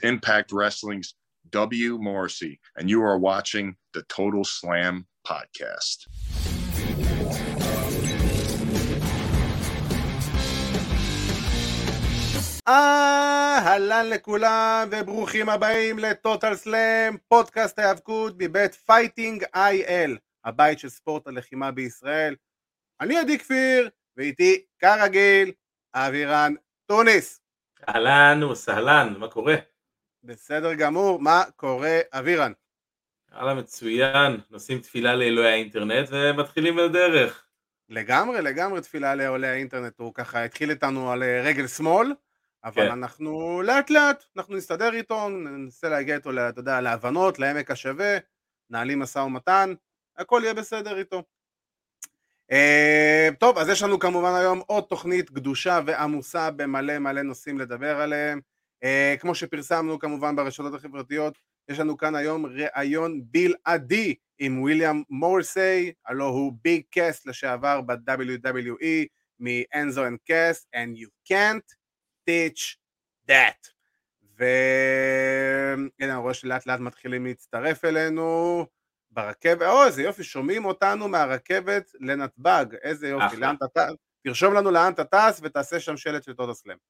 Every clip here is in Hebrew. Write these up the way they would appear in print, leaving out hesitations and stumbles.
Impact Wrestling's W. Morrissey, and you are watching the Total Slam Podcast. אהלן לכולם וברוכים הבאים לטוטל סלאם, פודקאסט ההיאבקות מבית פייטינג IL, הבית של ספורט הלחימה בישראל. אני עדי כפיר, ואיתי כרגיל אבירן טוניס. אהלן וסהלן, מה קורה? בסדר גמור, מה קורה אבירן? הלאה, מצוין, נושאים תפילה לאלוהי האינטרנט ומתחילים לדרך. לגמרי תפילה לאלוהי האינטרנט, הוא ככה התחיל איתנו על רגל שמאל, אבל כן. אנחנו לאט אנחנו נסתדר איתו, ננסה להגיע איתו, אתה יודע, להבנות, לעמק השווה, נעלים משא ומתן, הכל יהיה בסדר איתו. טוב, אז יש לנו כמובן היום עוד תוכנית קדושה ועמוסה במלא נושאים לדבר עליהם. כמו שפרסמנו כמובן ברשתות החברתיות, יש לנו כאן היום ראיון בלעדי עם וויליאם מורסי, הלא הוא ביג קאס לשעבר ב-WWE מ-Enzo and Cass, and you can't teach that. והנה אני רואה שלאט לאט מתחילים להצטרף אלינו ברכבת. איזה יופי, שומעים אותנו מהרכבת לנתב"ג, איזה יופי. לאן אתה טס? תרשום לנו לאן אתה טס ותעשה שם שלט של טוטל סלאם.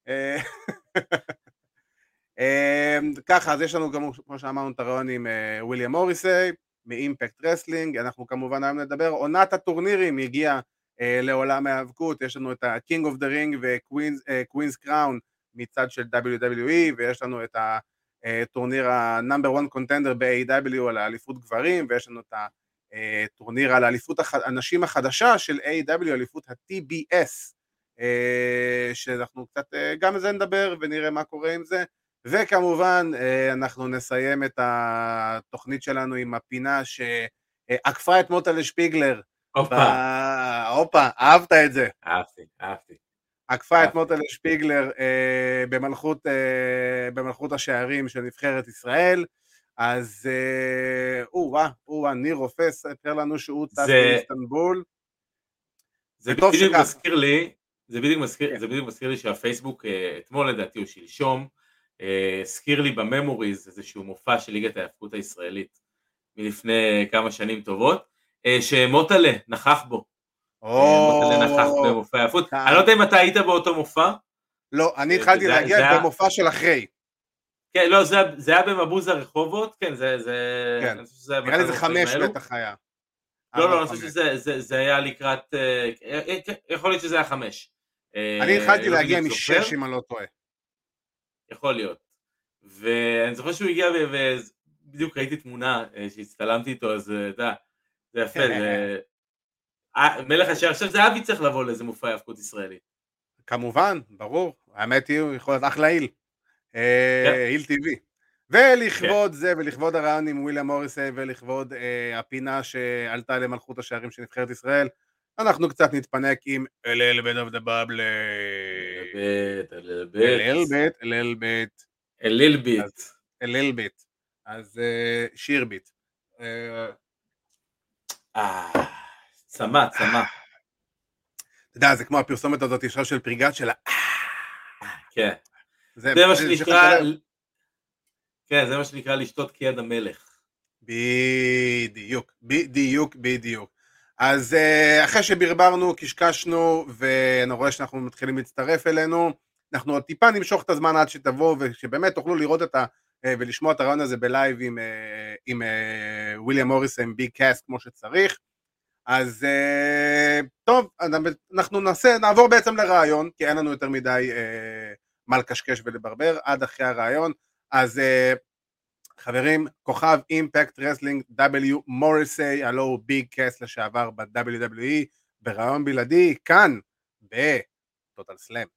ככה, אז יש לנו גם, כמו שאמרנו, את הרעיון עם וויליאם מוריסי מאימפקט רסלינג. אנחנו כמובן היום נדבר, עונת הטורנירים הגיעה לעולם ההיאבקות. יש לנו את ה-King of the Ring ו-Queen's Crown מצד של WWE, ויש לנו את הטורניר ה-Number 1 Contender ב-AEW על האליפות גברים, ויש לנו את הטורניר על האליפות הנשים החדשה של AEW, אליפות ה-TBS, שאנחנו קצת גם על זה נדבר ונראה מה קורה עם זה. וכמובן אנחנו נסיים את התוכנית שלנו עם הפינה שעקפה את מוטה לשפיגלר. הופה, אהבת את זה. אהבתי. עקפה את מוטה לשפיגלר במלכות השערים של נבחרת ישראל. אז ניר רופא ספר לנו שהוא טס באיסטנבול. זה בדיוק מזכיר לי שהפייסבוק אתמול לדעתי או שלשום הזכיר לי בממוריז איזשהו מופע של ליגת ההיאבקות הישראלית מלפני כמה שנים טובות, שמוטלה נכח בו. מוטלה נכח במופע ההיאבקות. אני לא יודע אם אתה היית באותו מופע. לא, אני התחלתי להגיע במופע של אחרי. כן, לא, זה היה במבוז הרחובות, כן, נראה לי זה 5 בטח היה. לא, אני חושב שזה היה לקראת, יכול להיות שזה היה 5. אני התחלתי להגיע מ6 אם אני לא טועה. יכול להיות. ואני זוכר שהוא הגיע ובדיוק ראיתי תמונה שהצטלמתי איתו, אז זה יפה, מלך השער. עכשיו זה אבי צריך לבוא לאיזה מופע ההיאבקות ישראלי. כמובן, ברור, האמת היא, הוא יכול להיות אחלה היל, היל טבעי. ולכבוד זה, ולכבוד הרעיון עם וויליאם מוריסי, ולכבוד הפינה שעלתה למלכות השערים של נבחרת ישראל, אנחנו קצת נתפנק עם a little bit of the bubble. a little bit. אז שיר ביט. צמא. אתה יודע, זה כמו הפרסומת הזאת ישר של פריגת של כן. זה מה שנקרא, כן, זה מה שנקרא לשתות כיד המלך. בדיוק. אז אחרי שברברנו, קשקשנו, ואני רואה שאנחנו מתחילים להצטרף אלינו, אנחנו עוד טיפה נמשוך את הזמן עד שתבואו, ושבאמת תוכלו לראות ולשמוע את הרעיון הזה בלייב עם וויליאם מוריס, עם ביג קאס כמו שצריך. אז טוב, אנחנו נעבור בעצם לרעיון, כי אין לנו יותר מדי מה לקשקש ולברבר עד אחרי הרעיון. אז חברים, כוכב אימפקט רסלינג W מוריסי, הלו הוא ביג קאס לשעבר ב-WWE, ברעיון בלעדי, כאן בטוטל סלאם.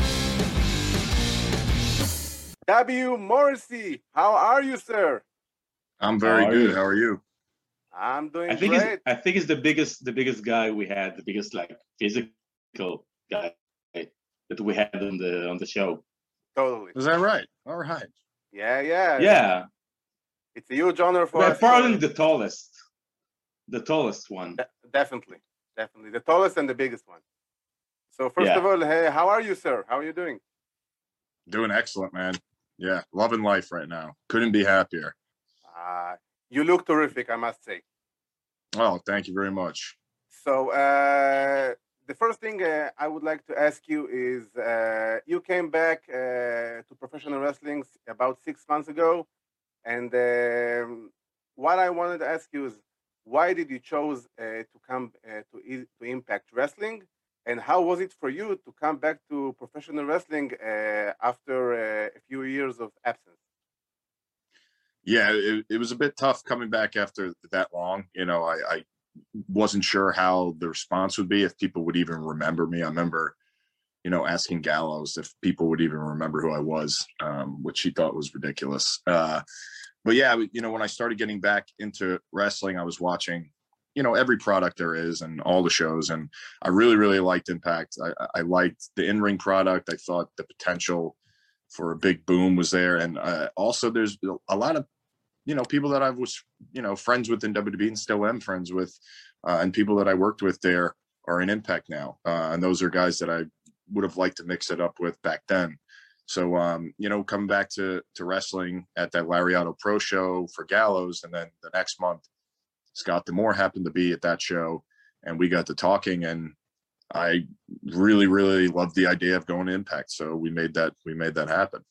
W Morrissey, how are you, sir? I'm very good. How are you? I'm doing great. I think it's the biggest guy we had, the biggest like physical guy that we had on the show. Totally. Is that right? All right. Yeah. It's a huge honor for us. Probably the tallest one. Definitely, the tallest and the biggest one. So first of all, hey, how are you, sir? How are you doing? Doing excellent, man. Yeah, loving life right now. Couldn't be happier. You look terrific, I must say. Oh, thank you very much. So the first thing I would like to ask you is you came back to professional wrestling about 6 months ago, and what I wanted to ask you is why did you chose to come to Impact Wrestling, and how was it for you to come back to professional wrestling after a few years of absence? Yeah, it was a bit tough coming back after that long. You know, I wasn't sure how the response would be, if people would even remember me. I remember, you know, asking Gallows if people would even remember who I was, which he thought was ridiculous. But yeah, you know, when I started getting back into wrestling, I was watching, you know, every product there is and all the shows, and I really, really liked Impact. I liked the in-ring product. I thought the potential for a big boom was there, and also there's a lot of, you know, people that I was, you know, friends with in WWE and still am friends with, and people that I worked with there are in Impact now, and those are guys that I would have liked to mix it up with back then. So, you know, coming back to wrestling at that Lariato Pro show for Gallows, and then the next month, Scott D'Amore happened to be at that show, and we got to talking, and I really, really loved the idea of going to Impact. So we made that happen.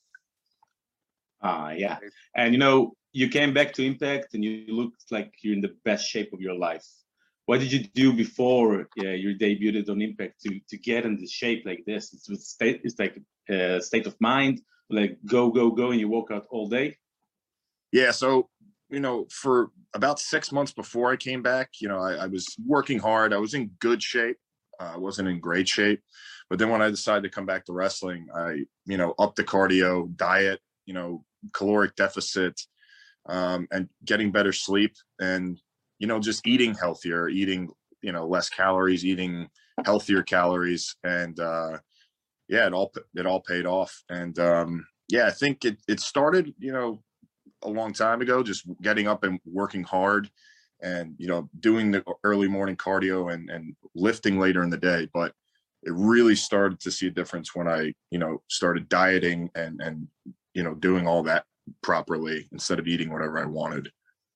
Yeah, and you know, you came back to Impact, and you looked like you're in the best shape of your life. What did you do before you debuted on Impact to get in the shape like this? It's like a state of mind, like go, and you work out all day? Yeah, so, you know, for about 6 months before I came back, you know, I was working hard. I was in good shape. I wasn't in great shape. But then when I decided to come back to wrestling, I, you know, upped the cardio, diet, you know, caloric deficit, and getting better sleep, and, you know, just eating healthier, eating, you know, less calories, eating healthier calories. And yeah, it all paid off. And yeah, I think it started, you know, a long time ago, just getting up and working hard, and, you know, doing the early morning cardio and lifting later in the day. But it really started to see a difference when I, you know, started dieting and, you know, doing all that properly instead of eating whatever I wanted.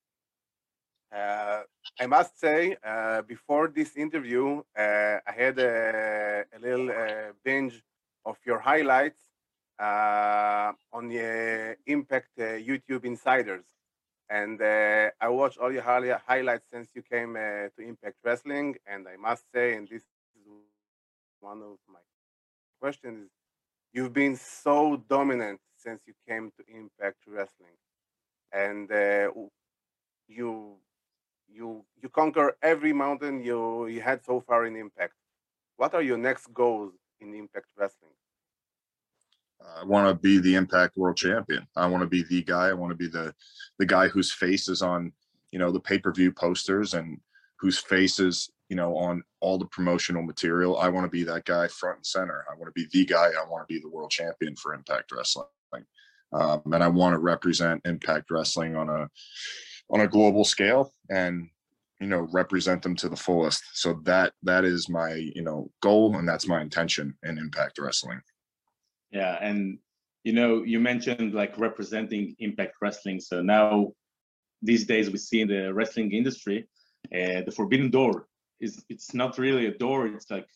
I must say, before this interview, I had a little binge of your highlights on the Impact YouTube Insiders. And I watched all your highlights since you came to Impact Wrestling. And I must say, and this is one of my questions, you've been so dominant since you came to Impact Wrestling. And you conquer every mountain you had so far in Impact. What are your next goals in Impact Wrestling? I want to be the Impact World Champion. I want to be the guy. I want to be the guy whose face is on, you know, the pay-per-view posters, and whose face is, you know, on all the promotional material. I want to be that guy front and center. I want to be the guy. I want to be the world champion for Impact Wrestling. And I want to represent Impact Wrestling on a global scale, and, you know, represent them to the fullest. So that is my, you know, goal, and that's my intention in Impact Wrestling. Yeah, and you know, you mentioned like representing Impact Wrestling. So now, these days, we see in the wrestling industry, the forbidden door it's not really a door; it's like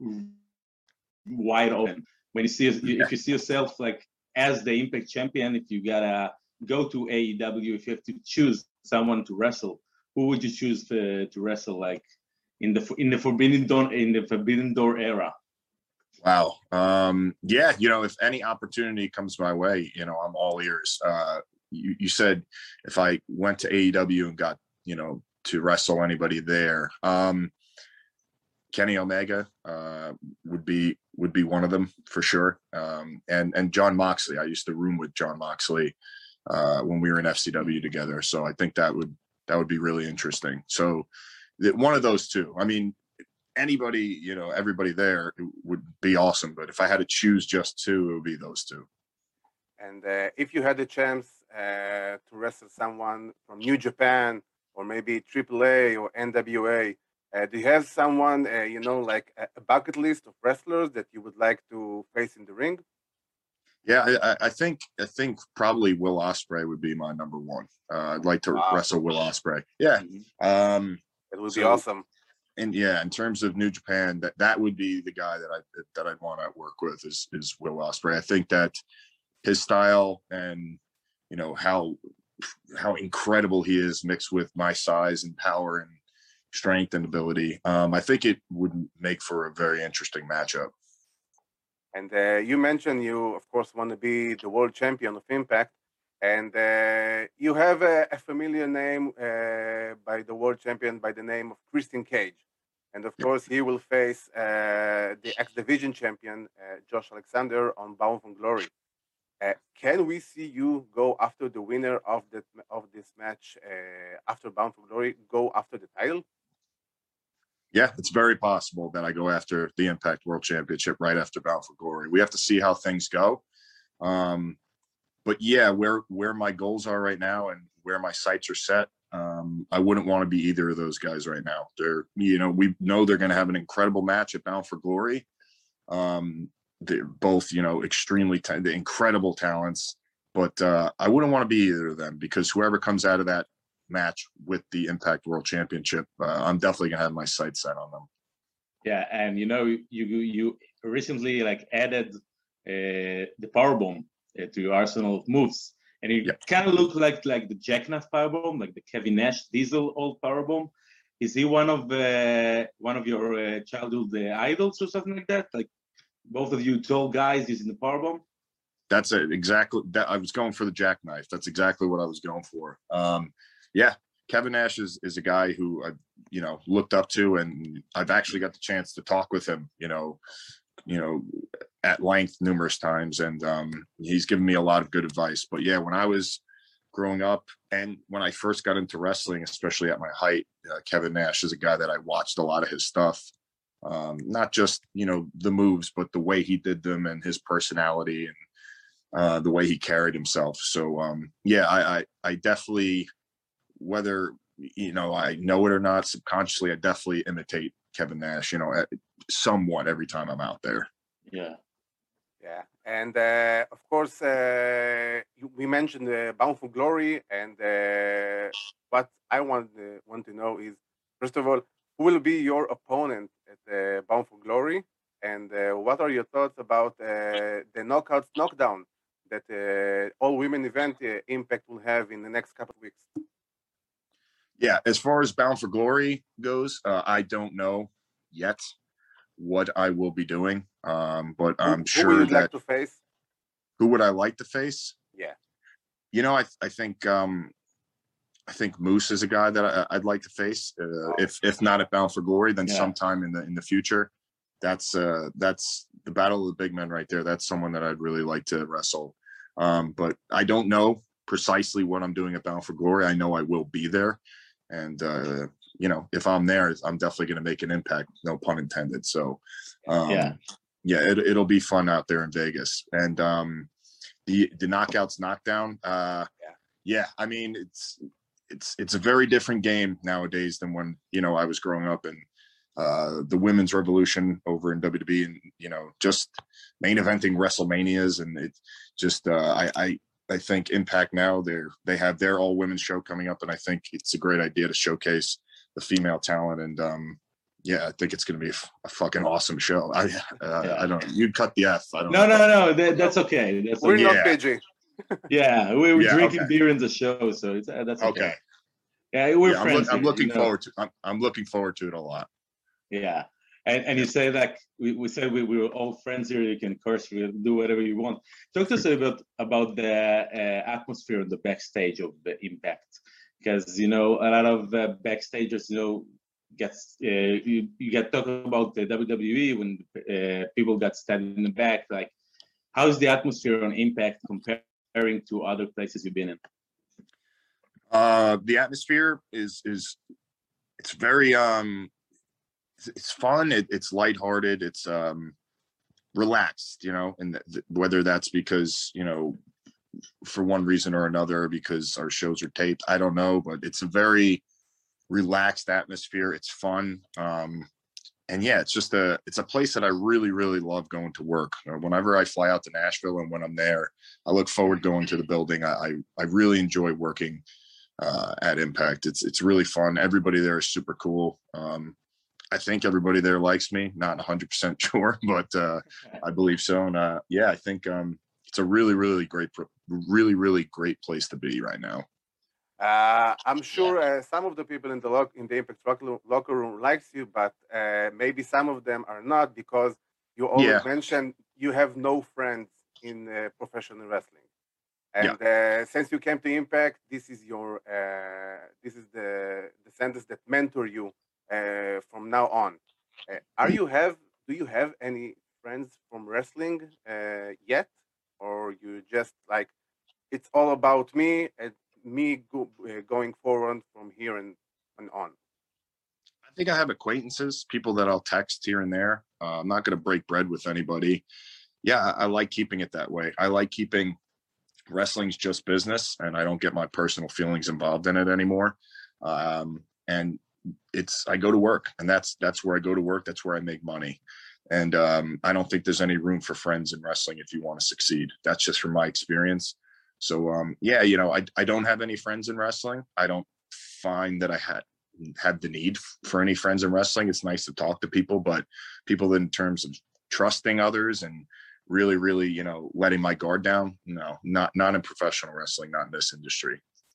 wide open. When you see, if you see yourself like as the Impact champion, if you gotta go to AEW, if you have to choose someone to wrestle, who would you choose to wrestle like in the forbidden door era? Wow. Yeah, you know, if any opportunity comes my way, you know, I'm all ears. You said if I went to AEW and got, you know, to wrestle anybody there, Kenny Omega would be one of them for sure. And Jon Moxley. I used to room with Jon Moxley when we were in FCW together. So I think that would be really interesting. So one of those two. I mean, anybody, you know, everybody there would be awesome. But if I had to choose just two, it would be those two. And if you had the chance to wrestle someone from New Japan or maybe AAA or NWA, do you have someone, you know, like a bucket list of wrestlers that you would like to face in the ring? Yeah, I think probably Will Ospreay would be my number one. I'd like to wrestle Will Ospreay. Yeah. It would be awesome. And yeah, in terms of New Japan, that would be the guy that I'd want to work with is Will Ospreay. I think that his style and how incredible he is mixed with my size and power and strength and ability. I think it would make for a very interesting matchup. And you mentioned you, of course, want to be the world champion of Impact. And you have a familiar name by the world champion by the name of Christian Cage. And of course, he will face the X Division champion, Josh Alexander, on Bound for Glory. Can we see you go after the winner of this match after Bound for Glory, go after the title? Yeah, it's very possible that I go after the Impact World Championship right after Bound for Glory. We have to see how things go. But yeah, where my goals are right now and where my sights are set, I wouldn't want to be either of those guys right now. We know they're going to have an incredible match at Bound for Glory. They're both, extremely incredible talents, but I wouldn't want to be either of them because whoever comes out of that match with the Impact World Championship, I'm definitely gonna have my sights set on them. Yeah, and you recently added the powerbomb to your arsenal of moves, and it kind of looked like the Jackknife powerbomb, like the Kevin Nash Diesel old powerbomb. Is he one of your childhood idols or something like that? Like both of you tall guys using the powerbomb? That's it, exactly. That I was going for the Jackknife. That's exactly what I was going for. Yeah, Kevin Nash is a guy who I've looked up to, and I've actually got the chance to talk with him, at length numerous times, and he's given me a lot of good advice. But yeah, when I was growing up and when I first got into wrestling, especially at my height, Kevin Nash is a guy that I watched a lot of his stuff, not just the moves, but the way he did them and his personality and the way he carried himself. So yeah, I definitely, whether I know it or not, subconsciously I definitely imitate Kevin Nash somewhat every time I'm out there. Yeah And of course we mentioned Bound for Glory, and what I want to know is, first of all, who will be your opponent at Bound for Glory, and what are your thoughts about the Knockouts Knockdown that all-women event Impact will have in the next couple of weeks? Yeah, as far as Bound for Glory goes, I don't know yet what I will be doing, but I'm sure who would you like to face? Who would I like to face? Yeah, I think Moose is a guy that I'd like to face. If not at Bound for Glory, then sometime in the future. That's the Battle of the Big Men right there. That's someone that I'd really like to wrestle. But I don't know precisely what I'm doing at Bound for Glory. I know I will be there. And, if I'm there, I'm definitely going to make an impact, no pun intended. So, it'll be fun out there in Vegas. And the Knockouts Knockdown, I mean, it's a very different game nowadays than when, I was growing up, and the women's revolution over in WWE, and, just main eventing WrestleManias. And it just, I think Impact now, they have their all women's show coming up, and I think it's a great idea to showcase the female talent. And I think it's going to be a fucking awesome show. I don't. You'd cut the F. I don't. No. That's okay. We're not PG. Yeah, we're drinking beer in the show, so that's okay. Yeah, we're friends. I'm looking forward to. I'm looking forward to it a lot. Yeah. And you say that we said we were all friends here. You can curse, you do whatever you want. Talk to us a bit about the atmosphere on the backstage of the Impact, because a lot of backstagers, gets you get talking about the WWE when people got stabbed in the back. Like, how's the atmosphere on Impact comparing to other places you've been in? The atmosphere is it's very it's fun. It's lighthearted. It's relaxed, and whether that's because, for one reason or another, because our shows are taped, I don't know, but it's a very relaxed atmosphere. It's fun. yeah, it's a place that I really, really love going to work. Whenever I fly out to Nashville and when I'm there, I look forward going to the building. I really enjoy working at Impact. It's really fun. Everybody there is super cool. I think everybody there likes me. Not 100% sure, but I believe so. And yeah, I think it's a really, really great place to be right now. I'm sure some of the people in the Impact locker room likes you, but maybe some of them are not, because you always mentioned you have no friends in professional wrestling. And since you came to Impact, this is the sentence that mentor you from now on. Do you have any friends from wrestling yet, or you just like it's all about me and me going forward from here and on? I think I have acquaintances, people that I'll text here and there. I'm not going to break bread with anybody. Yeah, I like keeping it that way. I like keeping wrestling's just business, and I don't get my personal feelings involved in it anymore. And I go to work, and that's where I go to work. That's where I make money. And I don't think there's any room for friends in wrestling if you want to succeed. That's just from my experience. So yeah, I don't have any friends in wrestling. I don't find that I had the need for any friends in wrestling. It's nice to talk to people, but people in terms of trusting others and really, really, letting my guard down, no, not in professional wrestling, not in this industry.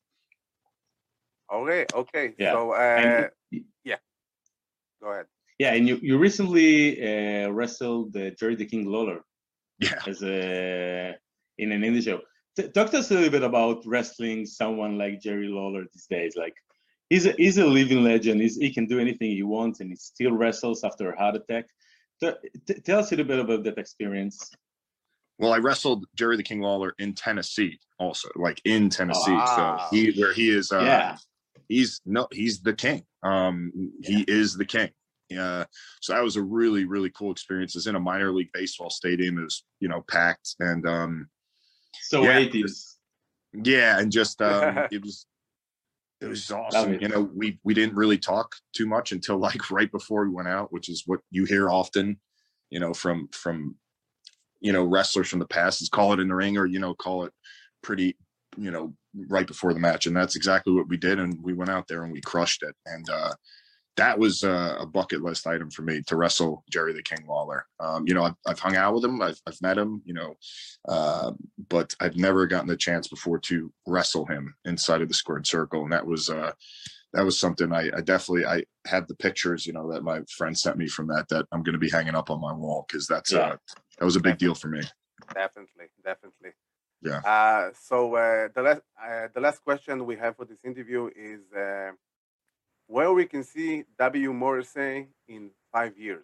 Okay. Yeah. So yeah, go ahead. Yeah, and you recently wrestled Jerry the King Lawler. Yeah. In an indie show. Talk to us a little bit about wrestling someone like Jerry Lawler these days. Like, he's a living legend. He can do anything he wants, and he still wrestles after a heart attack. Tell us a little bit about that experience. Well, I wrestled Jerry the King Lawler in Tennessee, also, like in Tennessee. Wow. So where he is, he's the king. He is the king. Yeah. So that was a really, really cool experience. It's in a minor league baseball stadium. It was, packed, and so 80s. Yeah, and just it was awesome. We didn't really talk too much until like right before we went out, which is what you hear often, from wrestlers from the past, is call it in the ring, or call it pretty, right before the match. And that's exactly what we did, and we went out there and we crushed it. And that was a bucket list item for me, to wrestle Jerry the King Lawler. I've hung out with him, I've met him, but I've never gotten the chance before to wrestle him inside of the squared circle. And that was something I have the pictures, that my friend sent me from that I'm going to be hanging up on my wall, because that was a big deal for me. Definitely. Yeah. So the last question we have for this interview is where we can see W. Morrissey in 5 years.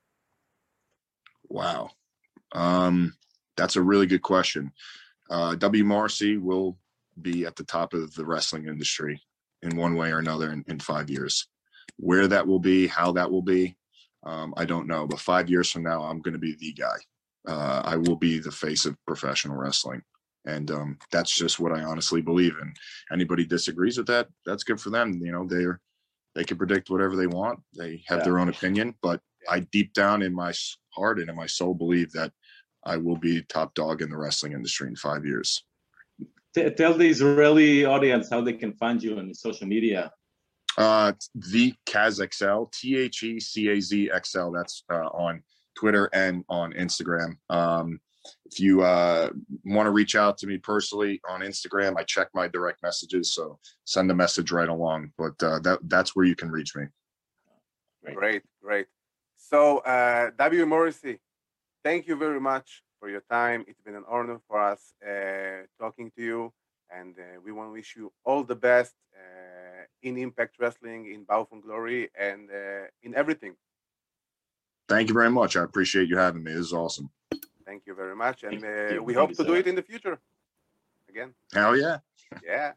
Wow. That's a really good question. W. Morrissey will be at the top of the wrestling industry in one way or another in 5 years. Where that will be, how that will be, I don't know. But 5 years from now, I'm going to be the guy. I will be the face of professional wrestling. And that's just what I honestly believe in. Anybody disagrees with that, that's good for them. They can predict whatever they want. They have their own opinion, but I deep down in my heart and in my soul believe that I will be top dog in the wrestling industry in 5 years. Tell the Israeli audience how they can find you on social media. The CazXL, THECAZXL. That's on Twitter and on Instagram. If you want to reach out to me personally on Instagram, I check my direct messages, so send a message right along. But that's where you can reach me. Great. So, W. Morrissey, thank you very much for your time. It's been an honor for us talking to you, and we want to wish you all the best in Impact Wrestling, in Bound for Glory, and in everything. Thank you very much. I appreciate you having me. This is awesome. Thank you very much, and we hope to do it in the future again. Hell yeah. Yeah.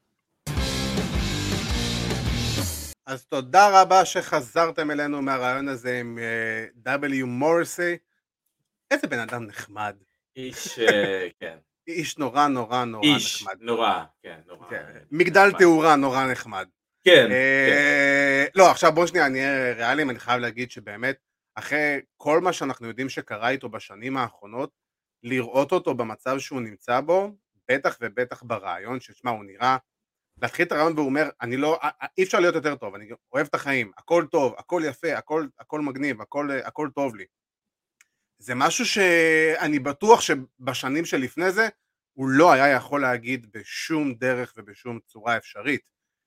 אז תודה רבה שחזרתם אלינו מהרעיון הזה עם W. מוריסי. איזה בן אדם נחמד. איש, כן. איש נורא נחמד. איש, נורא, כן, נורא. מגדל תאורה נורא נחמד. כן. לא, עכשיו בוא שנייה, אני אהיה ריאליים, אני חייב להגיד שבאמת, אחרי כל מה שאנחנו יודעים שקרה איתו בשנים האחרונות, לראות אותו במצב שהוא נמצא בו, בטח ובטח ברעיון, ששמע, הוא נראה, להתחיל את הרעיון והוא אומר, אני לא, אי אפשר להיות יותר טוב, אני אוהב את החיים, הכל טוב, הכל יפה, הכל מגניב, הכל טוב לי. זה משהו שאני בטוח שבשנים שלפני זה, הוא לא היה יכול להגיד בשום דרך ובשום צורה אפשרית.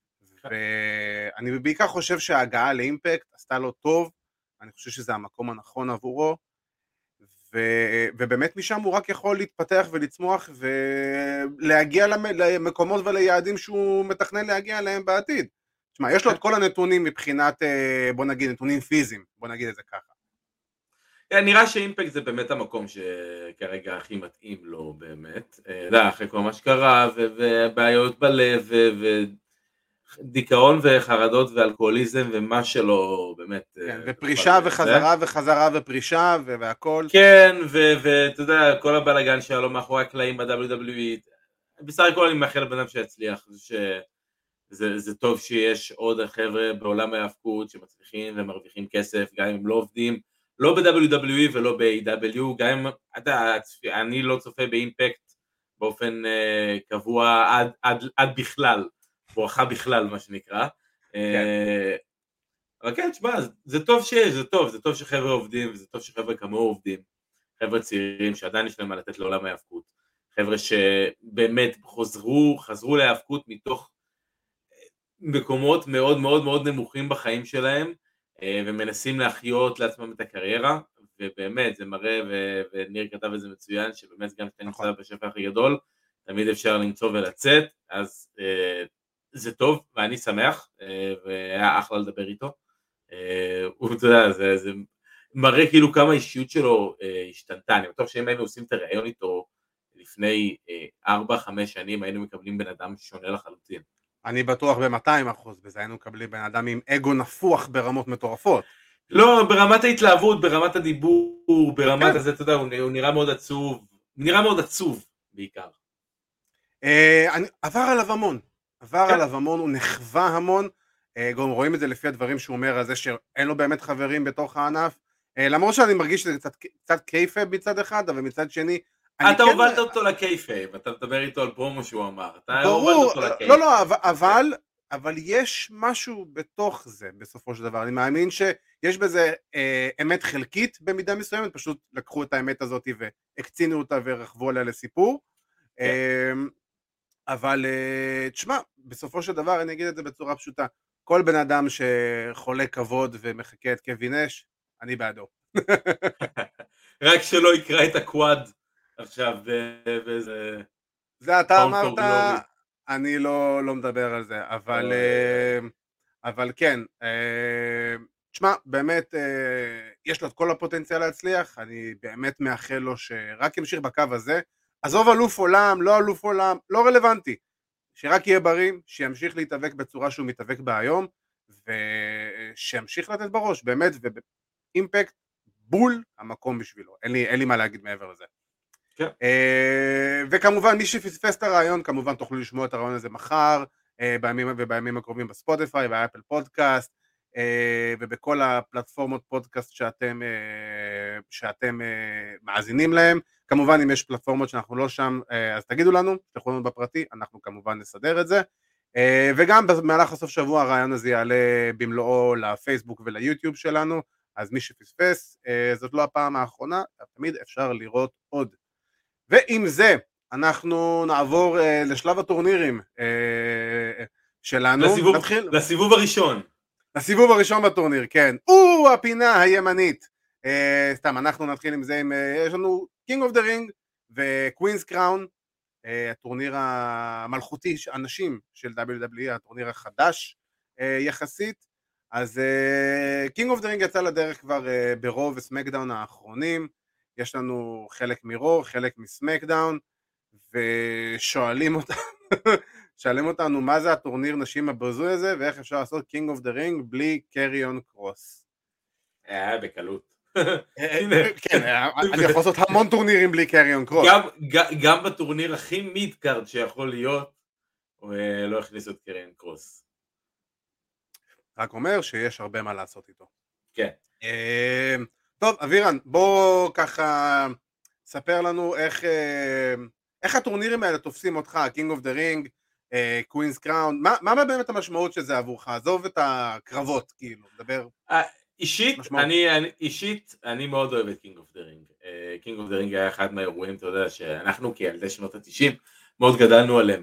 ואני בעיקר חושב שההגעה לאימפקט עשתה לו טוב, אני חושב שזה המקום הנכון עבורו, ובאמת משם הוא רק יכול להתפתח ולצמוח ולהגיע למקומות וליעדים שהוא מתכנן להגיע אליהם בעתיד. תשמע, יש לו את כל הנתונים מבחינת, בוא נגיד, נתונים פיזיים, בוא נגיד את זה ככה. נראה שאימפקט זה באמת המקום שכרגע הכי מתאים לו באמת, אחרי כל מה שקרה ובעיות בלב ודיכאון וחרדות ואלכוהוליזם ומה שלא באמת. כן, ופרישה וחזרה וחזרה ופרישה והכל. כן, ואתה יודע, כל הבלגן שהיה לו מאחורי הקלעים ב-WWE, בסך הכל אני מאחל לבן אדם שיצליח, זה טוב שיש עוד חבר'ה בעולם ההאבקות שמצליחים ומרוויחים כסף, גם אם הם לא עובדים, לא ב-WWE ולא ב-AW, גם אם, אני לא צופה באימפקט באופן קבוע עד בכלל, בורחה בכלל מה שנקרא, אבל כן, תשמע, זה טוב שיש, זה טוב שחבר'ה עובדים, וזה טוב שחבר'ה כמוהו עובדים, חבר'ה צעירים שעדיין יש להם מה לתת לעולם ההאבקות, חבר'ה שבאמת חזרו להאבקות מתוך מקומות מאוד מאוד מאוד נמוכים בחיים שלהם, ומנסים להחיות לעצמם את הקריירה, ובאמת זה מראה, וניר כתב את זה מצוין, שבאמת גם כשאתה נמצא בשפע הכי גדול, תמיד אפשר למצוא ולצאת, אז זה טוב, ואני שמח, והיה אחלה לדבר איתו, הוא, אתה יודע, זה מראה כאילו כמה האישיות שלו השתנתה, אני בטוח שאם היינו עושים את הרעיון איתו, לפני 4-5 שנים, היינו מקבלים בן אדם שונה לחלוטין. אני בטוח ב-200% בזה, היינו מקבלים בן אדם עם אגו נפוח ברמות מטורפות. לא, ברמת ההתלהבות, ברמת הדיבור, ברמת הזה, אתה יודע, הוא נראה מאוד עצוב, נראה מאוד עצוב בעיקר. עבר עליו המון, הוא נחווה המון, גם רואים את זה לפי הדברים שהוא אומר, על זה שאין לו באמת חברים בתוך הענף, למרות שאני מרגיש שזה קצת קייפה מצד אחד, אבל מצד שני, אתה הובלת אותו לקייפייב, אתה מדבר איתו על פרומו שהוא אמר, אתה הובלת אותו לקייפייב. לא, אבל יש משהו בתוך זה בסופו של דבר, אני מאמין שיש בזה אמת חלקית במידה מסוימת, פשוט לקחו את האמת הזאת והקצינו אותה ורחבו עליה לסיפור, אבל תשמע, בסופו של דבר אני אגיד את זה בצורה פשוטה, כל בן אדם שחולה כבוד ומחכה את קווין נש, אני בעדו. רק שלא יקרא את הקוואד עכשיו באיזה... זה אתה אמרת, אני לא מדבר על זה, אבל כן, תשמע, באמת יש לו את כל הפוטנציאל להצליח, אני באמת מאחל לו שרק ימשיך בקו הזה, עזוב אלוף עולם, לא אלוף עולם, לא רלוונטי, שרק יהיה בריא, שימשיך להתאבק בצורה שהוא מתאבק בה היום, ושימשיך לתת בראש, באמת, ואימפקט בול המקום בשבילו, אין לי מה להגיד מעבר לזה. וכמובן מי שפספס את הרעיון, כמובן תוכלו לשמוע את הרעיון הזה מחר, בימים הקרובים בספוטיפיי, באפל פודקאסט, ובכל הפלטפורמות פודקאסט שאתם מאזינים להם. כמובן אם יש פלטפורמות שאנחנו לא שם, אז תגידו לנו, תלכו לנו בפרטי, אנחנו כמובן נסדר את זה, וגם במהלך הסוף שבוע הרעיון הזה יעלה במלואו לפייסבוק וליוטיוב שלנו, אז מי שפספס, זאת לא הפעם האחרונה, תמיד אפשר לראות עוד. ועם זה אנחנו נעבור לשלב הטורנירים שלנו. לסיבוב הראשון בטורניר, כן. הפינה הימנית. סתם, אנחנו נתחיל עם זה, יש לנו King of the Ring ו-Queen's Crown, הטורניר המלכותי, אנשים של WWE, הטורניר החדש יחסית. אז King of the Ring יצא לדרך כבר ברוב וסמקדאון האחרונים, יש לנו חלק מרו, חלק מסמקדאון, ושואלים אותנו מה זה הטורניר נשים הבזוי הזה, ואיך אפשר לעשות King of the Ring בלי קריון קרוס. בקלות. כן, אני יכול לעשות המון טורנירים בלי קריון קרוס. גם בטורניר הכי מידקארד שיכול להיות, לא הכניסו את קריון קרוס. רק אומר שיש הרבה מה לעשות איתו. כן. טוב, אבירן, בוא ככה ספר לנו איך הטורנירים האלה תופסים אותך, King of the Ring, Queen's Crown, מה באמת המשמעות של זה עבורך? עזוב את הקרבות, כאילו, דבר. אישית, אני מאוד אוהב את King of the Ring. King of the Ring היה אחד מהאירועים, אתה יודע, שאנחנו כילדי שנות ה-90 מאוד גדלנו עליהם.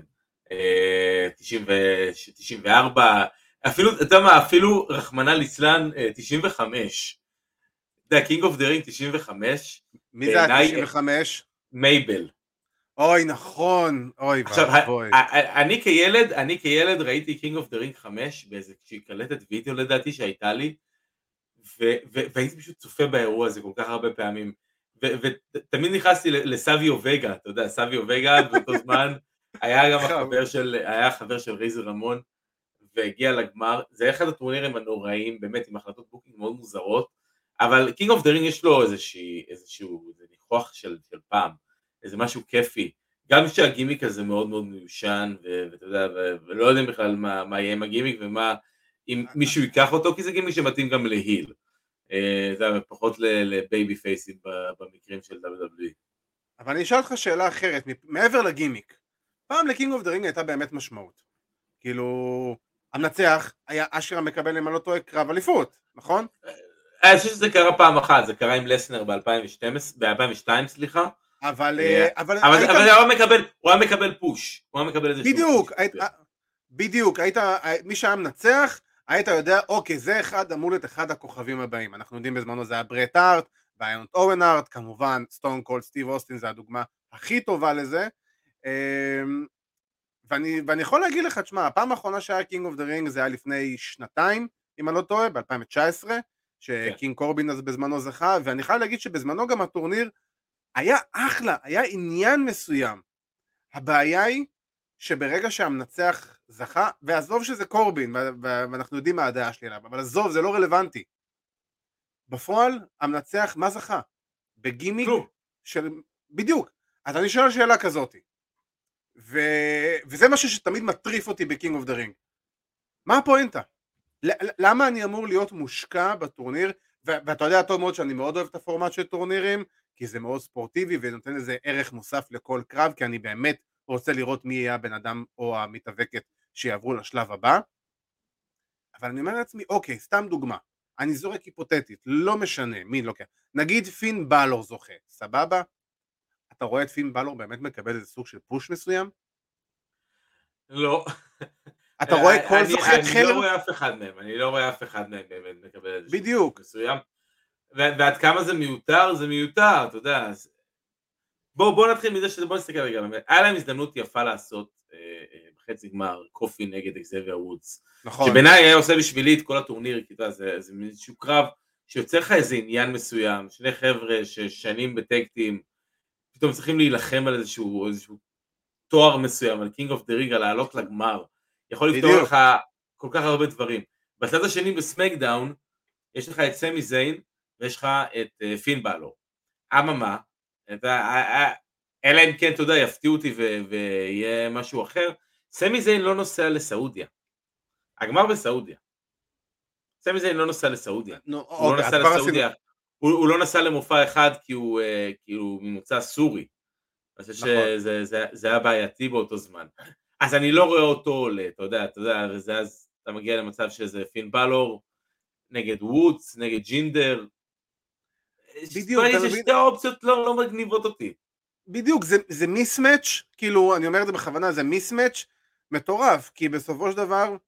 94, אפילו, אתה יודע מה, אפילו רחמנא ליצלן 95. אתה יודע, King of the Ring 95. מי זה ה-95? מייבל. אוי, נכון, אוי, עכשיו, אני כילד ראיתי King of the Ring 5 באיזה קלטת וידאו לדעתי שהייתה לי, והייתי פשוט צופה באירוע הזה כל כך הרבה פעמים, ותמיד נכנסתי לסביו וגה, אתה יודע, סביו וגה באותו זמן, היה גם החבר של רייזר רמון, והגיע לגמר, זה אחד הטורנירים הנוראים, באמת עם החלטות בוקינג מאוד מוזרות, אבל King of the Ring יש לו איזשהו ניחוח של פעם, איזה משהו כיפי, גם שהגימיק הזה מאוד מאוד מיושן, ואתה יודע, ולא יודעים בכלל מה יהיה עם הגימיק, ומה, אם מישהו ייקח אותו, כי זה גימיק שמתאים גם להיל, אתה יודע, פחות לבייבי פייסים במקרים של WWE. אבל אני אשאל אותך שאלה אחרת, מעבר לגימיק, פעם לקינג אוף דה רינג הייתה באמת משמעות, כאילו, המנצח היה אשכרה מקבל אם אני לא טועה קרב אליפות, נכון? אני חושב שזה קרה פעם אחת, זה קרה עם לסנר ב-2002, סליחה, אבל הוא היה מקבל פוש, הוא היה מקבל איזה בדיוק, מי שהיה מנצח, היית יודע, אוקיי, זה אמור להיות אחד הכוכבים הבאים, אנחנו יודעים בזמנו זה היה ברט הארט, ואיינט אוון הארט, כמובן סטון קולד סטיב אוסטין, זה הדוגמה הכי טובה לזה, ואני יכול להגיד לך, תשמע, הפעם האחרונה שהיה קינג אוף דה רינג זה היה לפני שנתיים, אם אני לא טועה, ב-2019, שקינג קורבין אז בזמנו זכה, ואני חייב להגיד שבזמנו גם הטורניר היה אחלה, היה עניין מסוים. הבעיה היא שברגע שהמנצח זכה, ועזוב שזה קורבין, ואנחנו יודעים מה הדעה שלי עליו, אבל עזוב, זה לא רלוונטי. בפועל, המנצח, מה זכה? בגימיק של... בדיוק. אז אני שואל שאלה כזאת. וזה משהו שתמיד מטריף אותי בקינג אוף דה רינג. מה הפואנטה? למה אני אמור להיות מושקע בטורניר? ואתה יודע טוב מאוד שאני מאוד אוהב את הפורמט של טורנירים, כי זה מאוד ספורטיבי ונותן לזה ערך מוסף לכל קרב, כי אני באמת רוצה לראות מי יהיה הבן אדם או המתאבקת שיעברו לשלב הבא. אבל אני אומר לעצמי, אוקיי, סתם דוגמה, אני זורק היפותטית, לא משנה מי לוקח, נגיד פין בלור זוכה, סבבה? אתה רואה את פין בלור באמת מקבל איזה סוג של פוש מסוים? לא. אתה רואה כל זוכה חלר? אני לא רואה אף אחד מהם באמת מקבל איזה בדיוק. פוש מסוים. ועד כמה זה מיותר, אתה יודע. בוא נתחיל מזה בוא נסתכל רגע, היה להם הזדמנות יפה לעשות בחצי גמר קופי נגד אקזבייר וודס, נכון. שבעיניי היה עושה בשבילי את כל הטורניר, כי זה איזשהו קרב שיוצר לך איזה עניין מסוים, שני חבר'ה ששנים בטקטים, פתאום צריכים להילחם על איזשהו תואר מסוים, על קינג אוף דה רינג, על לעלות לגמר, יכול לפתור לך כל כך הרבה דברים. בצד השני בסמקדאון, יש לך את סמי זיין, ויש לך את פין בלור. אממה, אלא אם כן, אתה יודע, יפתיעו אותי ויהיה משהו אחר, סמי זיין לא נוסע לסעודיה. הגמר בסעודיה. סמי זיין לא נוסע לסעודיה. הוא לא נסע למופע אחד כי הוא ממוצא סורי. אני חושב שזה היה בעייתי באותו זמן. אז אני לא רואה אותו, אתה יודע, וזה אז אתה מגיע למצב שזה פין בלור, נגד וודס, נגד ג'ינדר. בדיוק, שתי האופציות לא מגניבות אותי. בדיוק, זה מיסמץ', כאילו, אני אומר את זה בכוונה, זה מיסמץ' מטורף, כי בסופו של דבר,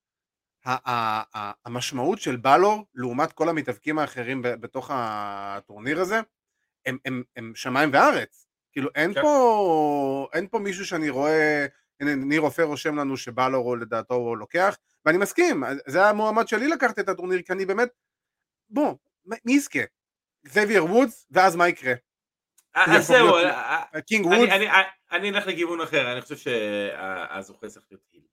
המשמעות של בלור, לעומת כל המתאבקים האחרים בתוך הטורניר הזה, הם שמיים וארץ. כאילו, אין פה מישהו שאני רואה, ניר אופר רושם לנו שבלור לדעתו הוא לוקח, ואני מסכים, זה המועמד שלי לקחת את הטורניר, כי אני באמת, בוא, מי יזכה? אקזבייר וודס, ואז מה יקרה? אז זהו, קינג וודס? אני אלך לכיוון אחר, אני חושב שהזוכה צריך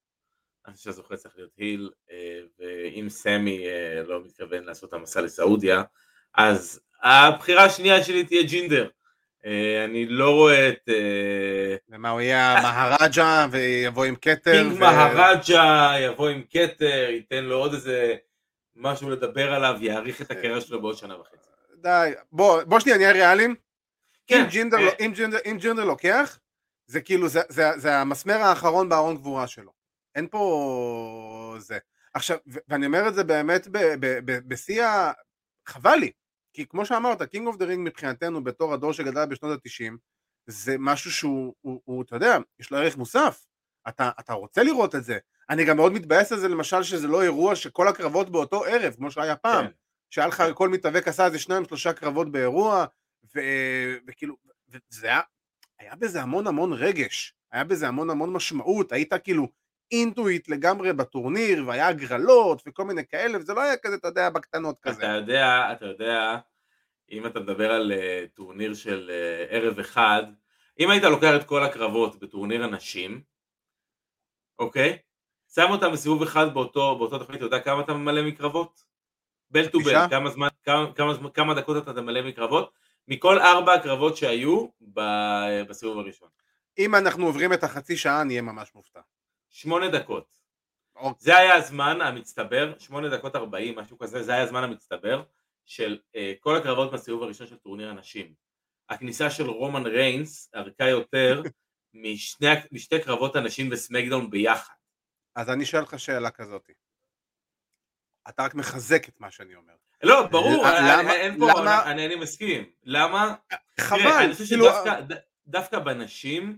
להיות היל, ואם סמי לא מתכוון לעשות המסע לסעודיה, אז הבחירה השנייה שלי תהיה ג'ינדר. אני לא רואה את... ומה הוא יהיה מהראג'ה ויבוא עם קטר? קינג מהראג'ה יבוא עם קטר, ייתן לו עוד איזה משהו לדבר עליו, יעריך את הקריירה שלו בעוד שנה וחצי. די, בוא שנייה, נהיה ריאליים. כן. אם ג'ינדר לוקח, זה כאילו, זה המסמר האחרון בארון גבורה שלו. אין פה זה. עכשיו, ואני אומר את זה באמת בשיא חבל לי, כי כמו שאמרת, King of the Ring מבחינתנו בתור הדור שגדל בשנות ה-90, זה משהו שהוא, אתה יודע, יש לו ערך מוסף. אתה רוצה לראות את זה. אני גם מאוד מתבאס על זה, למשל, שזה לא אירוע שכל הקרבות באותו ערב, כמו שהיה פעם, שהיה לך כל מתאבק עשה איזה 2-3 קרבות באירוע, וכאילו, זה היה בזה המון רגש, היה בזה המון משמעות, היית כאילו אינטואיט לגמרי בטורניר, והיה הגרלות וכל מיני כאלה, וזה לא היה כזה, אתה יודע, בקטנות כזה. אתה יודע, אם אתה מדבר על טורניר של ערב אחד, אם היית לוקח את כל הקרבות בטורניר הנשים, אוקיי? שם אותם בסיבוב אחד באותו תוכנית, אתה יודע כמה אתה ממלא מקרבות? בל טו בל, כמה דקות אתה ממלא מקרבות? מכל 4 הקרבות שהיו בסיבוב הראשון. אם אנחנו עוברים את החצי שעה, נהיה ממש מופתע. 8 דקות. זה היה הזמן המצטבר, 8 דקות 40, משהו כזה, זה היה הזמן המצטבר של כל הקרבות בסיבוב הראשון של טורניר הנשים. הכניסה של רומן ריינס ארכה יותר משתי קרבות הנשים בסמקדאון ביחד. אז אני שואל לך שאלה כזאת. אתה רק מחזק את מה שאני אומר. לא, ברור, אני מסכים. למה? חבל. אני חושב שדווקא בנשים,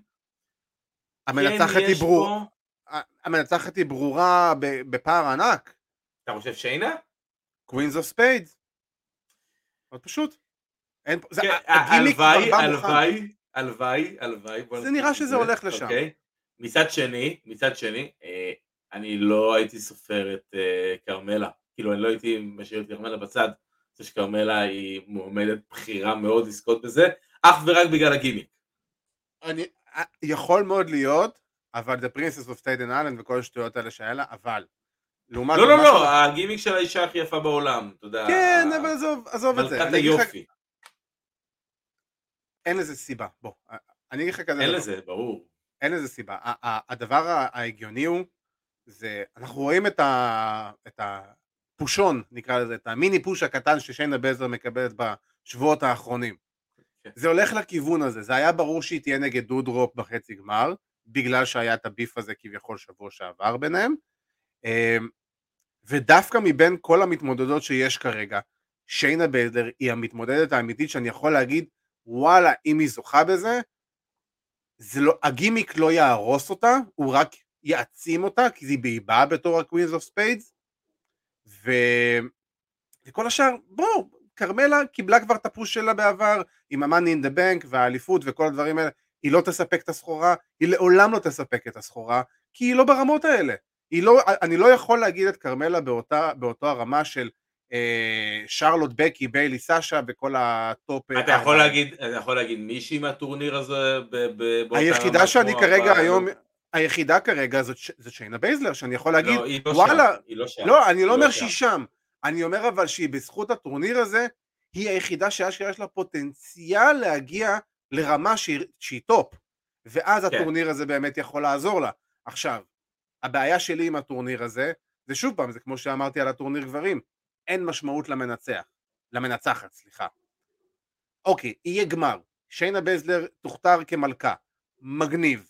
המנצחת היא ברורה בפער ענק. אתה חושב שיינה? קווינס אוף ספיידס. מאוד פשוט. הלוואי. זה נראה שזה הולך לשם. מצד שני, אני לא הייתי סופר את קרמלה. כאילו אני לא הייתי משאיר את קרמלה בצד. אני חושב שקרמלה היא מועמדת בחירה מאוד לזכות בזה, אך ורק בגלל הגימיק. יכול מאוד להיות, אבל The Princess of Staten Island וכל השטויות האלה שהיה לה, אבל לא, הגימיק של האישה הכי יפה בעולם, אתה יודע. כן, אבל עזוב את זה. מלכת היופי. אין לזה סיבה, בוא. אני אגיד לך כזה. אין לזה, ברור. אין לזה סיבה. הדבר ההגיוני הוא, אנחנו רואים את הפושון, נקרא לזה, את המיני פוש הקטן ששיינה בזלר מקבלת בשבועות האחרונים. זה הולך לכיוון הזה, זה היה ברור שהיא תהיה נגד דודרופ בחצי גמר, בגלל שהיה את הביף הזה כביכול שבוע שעבר ביניהם, ודווקא מבין כל המתמודדות שיש כרגע, שיינה בזלר היא המתמודדת האמיתית שאני יכול להגיד, וואלה, אם היא זוכה בזה, הגימיק לא יהרוס אותה, הוא רק יעצים אותה, כי היא בהיבאה בתור ה-Queens of Spades, וכל השאר, קרמלה קיבלה כבר את הפוש שלה בעבר, עם ה-Money in the Bank והאליפות וכל הדברים האלה, היא לא תספק את הסחורה, היא לעולם לא תספק את הסחורה, כי היא לא ברמות האלה. אני לא יכול להגיד את קרמלה באותו הרמה של שרלוט, בקי, ביילי, סאשה וכל הטופ. אתה יכול להגיד מישהי מהטורניר הזה היחידה שאני כרגע היום, היחידה כרגע זאת שיינה בייזלר, שאני יכול להגיד, וואלה, לא, אני לא אומר שהיא שם, אני אומר אבל שהיא בזכות הטורניר הזה, היא היחידה שיש לה פוטנציאל להגיע לרמה שהיא טופ, ואז הטורניר הזה באמת יכול לעזור לה. עכשיו, הבעיה שלי עם הטורניר הזה, זה שוב פעם, זה כמו שאמרתי על הטורניר גברים, אין משמעות למנצחת, סליחה. אוקיי, יהיה גמר, שיינה בייזלר תוכתר כמלכה, מגניב,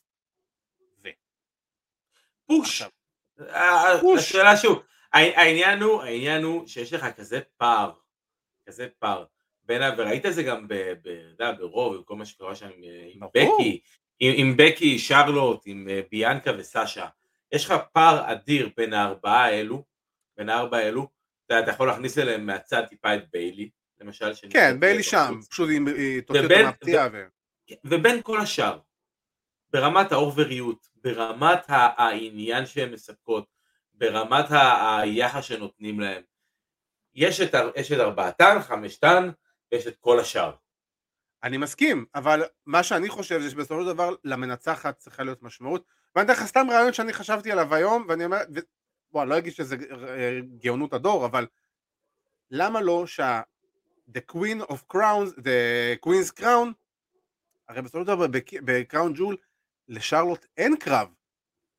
פוש. השאלה שוב, העניין הוא שיש לך כזה פער, וראית את זה גם ברוב, עם כל מה שקורה שם עם בקי, שרלוט, עם ביאנקה וסאשה, יש לך פער אדיר בין הארבעה האלו, אתה יכול להכניס אליהם מהצד טיפה את ביילי, למשל. כן, ביילי שם, פשוט היא תוצאת המפתיעה. ובין כל השאר, ברמת האובריות, ברמת העניין שהן מספקות, ברמת היחס שנותנים להם, יש את ארבעתן, חמשתן, ויש את כל השאר. אני מסכים, אבל מה שאני חושב זה שבסופו של דבר למנצחת צריכה להיות משמעות, ואני יודע לך סתם רעיון שאני חשבתי עליו היום, ואני אומר, בוא, לא אגיד שזה גאונות הדור, אבל למה לא the Queen's Crown, הרי בסופו של דבר בקראון ג'ול, לשרלוט אין קרב.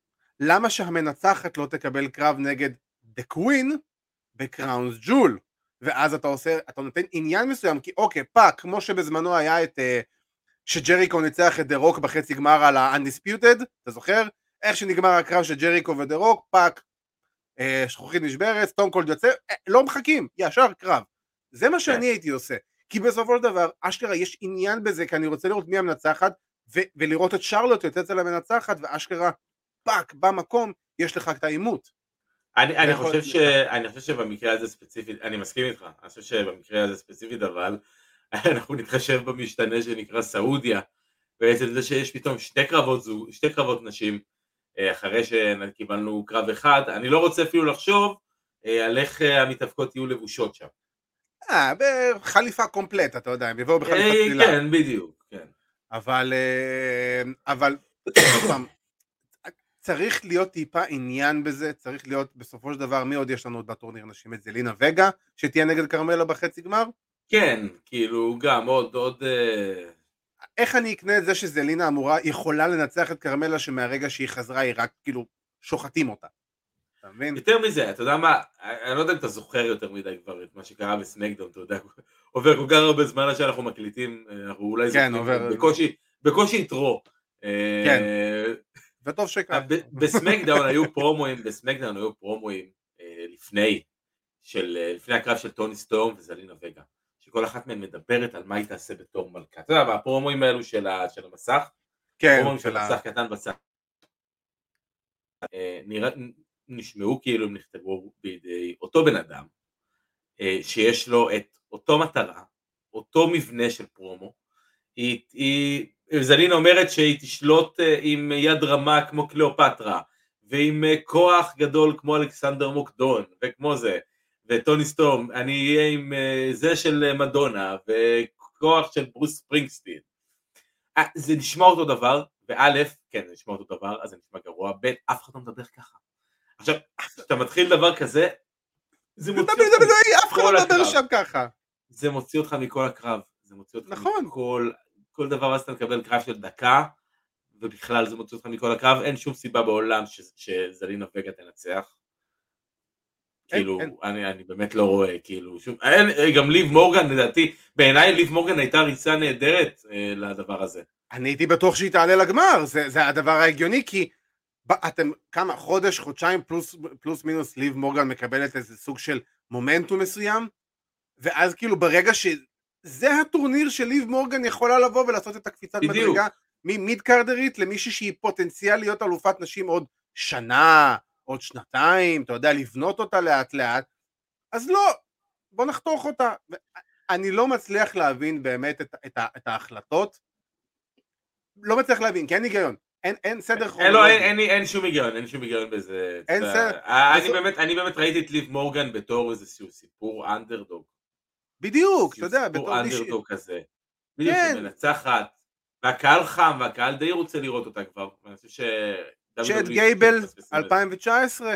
למה שהמנצחת לא תקבל קרב נגד The Queen בקראונס ג'ול? ואז אתה נותן עניין מסוים, כי אוקיי, פאק, כמו שבזמנו היה שג'ריקו ניצח את דה רוק בחצי גמר על ה-Undisputed, אתה זוכר? איך שנגמר הקרב של ג'ריקו ודה רוק, פאק, שכוחית נשברת, סטון קולד יוצא, לא מחכים, ישר קרב. זה מה שאני הייתי עושה, כי בסופו של דבר, אשכרה יש עניין בזה, כי אני רוצה לראות מי המנצחת, ולראות את שרלוט יוצאת על המנצחת, ואשכרה, פאק, במקום, יש לך את העימות. אני חושב שבמקרה הזה ספציפית, אני מסכים איתך, אני חושב שבמקרה הזה ספציפית, אבל אנחנו נתחשב במשתנה שנקרא סעודיה, בעצם זה שיש פתאום שתי קרבות נשים, אחרי שקיבלנו קרב אחד, אני לא רוצה אפילו לחשוב על איך המתאבקות יהיו לבושות שם. בחליפה קומפלט, אתה יודע, הם יבואו בחליפה צלילה. כן, בדיוק, כן. אבל צריך להיות טיפה עניין בזה, צריך להיות בסופו של דבר, מי עוד יש לנו בטורניר נשים? את זלינה וגה, שתהיה נגד קרמלה בחצי גמר? כן, כאילו גם עוד... איך אני אקנה את זה שזלינה יכולה לנצח את קרמלה שמהרגע שהיא חזרה היא רק כאילו שוחטים אותה? אתה מבין? יותר מזה, אתה יודע מה, אני לא יודע אם אתה זוכר יותר מדי כבר את מה שקרה בסמקדאון, אתה יודע, עובר כל כך הרבה זמן שאנחנו מקליטים, אנחנו אולי זוכרים, בקושי יתרו. כן, וטוב שכך. בסמקדאון היו פרומואים לפני הקרב של טוני סטורם וזלינה וגה, שכל אחת מהן מדברת על מה היא תעשה בתור מלכה. אתה יודע, הפרומואים האלו של המסך, פרומואים של המסך קטן בצד, נשמעו כאילו הם נכתבו בידי אותו בן אדם, שיש לו את אותו מטרה, אותו מבנה של פרומו, זלינה אומרת שהיא תשלוט עם יד רמה כמו קליאופטרה, ועם כוח גדול כמו אלכסנדר מוקדון, וכמו זה, וטוני סטורם, אני אהיה עם זה של מדונה, וכוח של ברוס ספרינגסטין. זה נשמע אותו דבר, וא', כן, זה נשמע אותו דבר, אז זה נשמע גרוע, ב', אף אחד לא מדבר ככה. עכשיו, כשאתה מתחיל דבר כזה, זה מוציא אותך אף אחד לא מדבר שם ככה. זה מוציא אותך מכל הקרב, זה מוציא אותך נכון. כל דבר, אז אתה מקבל קרב של דקה, ובכלל זה מוציא אותך מכל הקרב, אין שום סיבה בעולם שזלינה וגה תנצח. כאילו, אני באמת לא רואה, כאילו, שום, גם ליב מורגן, לדעתי, בעיניי ליב מורגן הייתה ריצה נהדרת לדבר הזה. אני הייתי בטוח שהיא תעלה לגמר, זה הדבר ההגיוני, כי אתם כמה, חודשיים פלוס מינוס, ליב מורגן מקבלת איזה סוג של מומנטום מסוים, ואז כאילו ברגע שזה הטורניר של ליב מורגן יכולה לבוא ולעשות את הקפיצת מדרגה, ממיד קרדרית למישהי שהיא פוטנציאל להיות אלופת נשים עוד שנה, עוד שנתיים, אתה יודע, לבנות אותה לאט לאט, אז לא, בוא נחתוך אותה. אני לא מצליח להבין באמת את ההחלטות, לא מצליח להבין, כי אין היגיון, אין סדר כרונולוגי. אין שום היגיון בזה. אין סדר. אני באמת ראיתי את ליב מורגן בתור איזשהו סיפור אנדרדוג. בדיוק, אתה יודע, בתור אנדרדוג כזה. בדיוק, שמנצחת, והקהל חם, והקהל די רוצה לראות אותה כבר. אני חושב צ'אט גייבל 2019?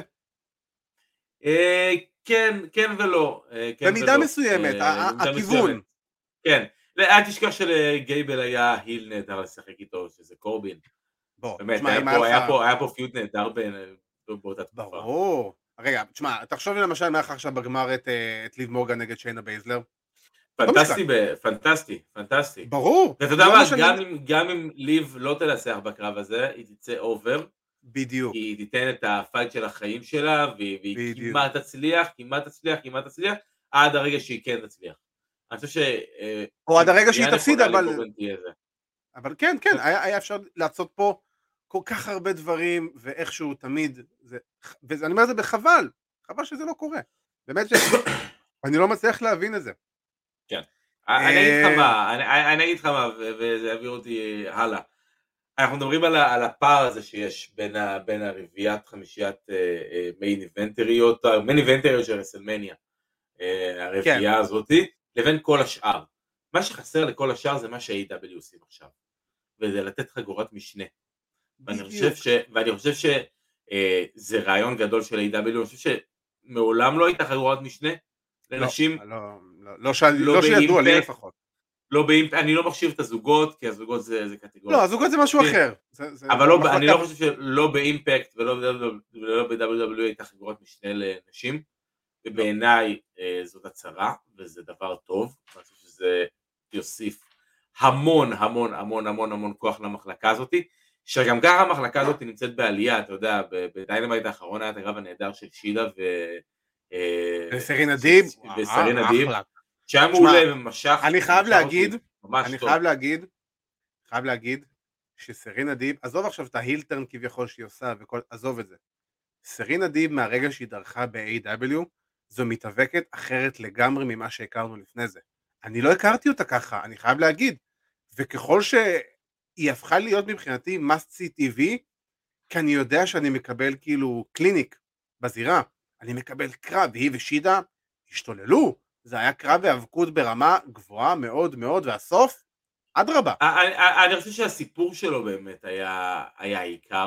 כן ולא. במידה מסוימת, הכיוון. כן, אל תשכח שלגייבל היה היל נהדר לשחק איתו, שזה קורבין. באמת, היה פה פיוט נהדר באותה תקופה. ברור. רגע, תשמע, תחשוב למשל מה עכשיו בגמר את ליב מורגן נגד שיינה בייזלר. פנטסטי. ברור. ואתה יודע מה, גם אם ליב לא תנצח בקרב הזה, היא תצא אובר. בדיוק. היא תיתן את הפייט של החיים שלה, והיא כמעט תצליח, עד הרגע שהיא כן תצליח. אני חושב או עד הרגע שהיא תפסיד, אבל כן, היה אפשר לעשות פה כל כך הרבה דברים, ואיכשהו תמיד, ואני אומר את זה בחבל, חבל שזה לא קורה. באמת שאני לא מצליח להבין את זה. כן. אני אגיד לך מה, וזה יעביר אותי הלאה. אנחנו מדברים על הפער הזה שיש בין הרביעיית חמישיית מיין איבנטריות של רסלמניה, הרביעייה הזאת, לבין כל השאר. מה שחסר לכל השאר זה מה שה-AW עושים עכשיו, וזה לתת חגורת משנה. ואני חושב שזה רעיון גדול של ה-AW, אני חושב שמעולם לא הייתה חגורת משנה לנשים. לא שידוע לי לפחות. אני לא מחשיב את הזוגות, כי הזוגות זה קטגוריה. לא, הזוגות זה משהו אחר. אבל אני לא חושב שלא באימפקט ולא ב-WWE הייתה חגורת משנה לנשים. ובעיניי זאת הצהרה, וזה דבר טוב, אני חושב שזה יוסיף המון המון המון המון המון כוח למחלקה הזאת, שגם ככה המחלקה הזאת נמצאת בעלייה, אתה יודע, בדיינמייט האחרון היה את הקרב הנהדר של שידה וסרינה דיב, וסרינה דיב, אחלה. שהיה מעולה ומשך, אני חייב להגיד, ממש אני טוב. חייב להגיד שסרינה דיב, עזוב עכשיו את ההילטרן כביכול שהיא עושה, עזוב את זה. סרינה דיב מהרגע שהיא דרכה ב-AW, זו מתאבקת אחרת לגמרי ממה שהכרנו לפני זה. אני לא הכרתי אותה ככה, אני חייב להגיד. וככל שהיא הפכה להיות מבחינתי must see TV, כי אני יודע שאני מקבל כאילו קליניק בזירה, אני מקבל קרב, והיא ושידה השתוללו, זה היה קרב והאבקות ברמה גבוהה מאוד מאוד, והסוף, אדרבה. אני חושב שהסיפור שלו באמת היה העיקר,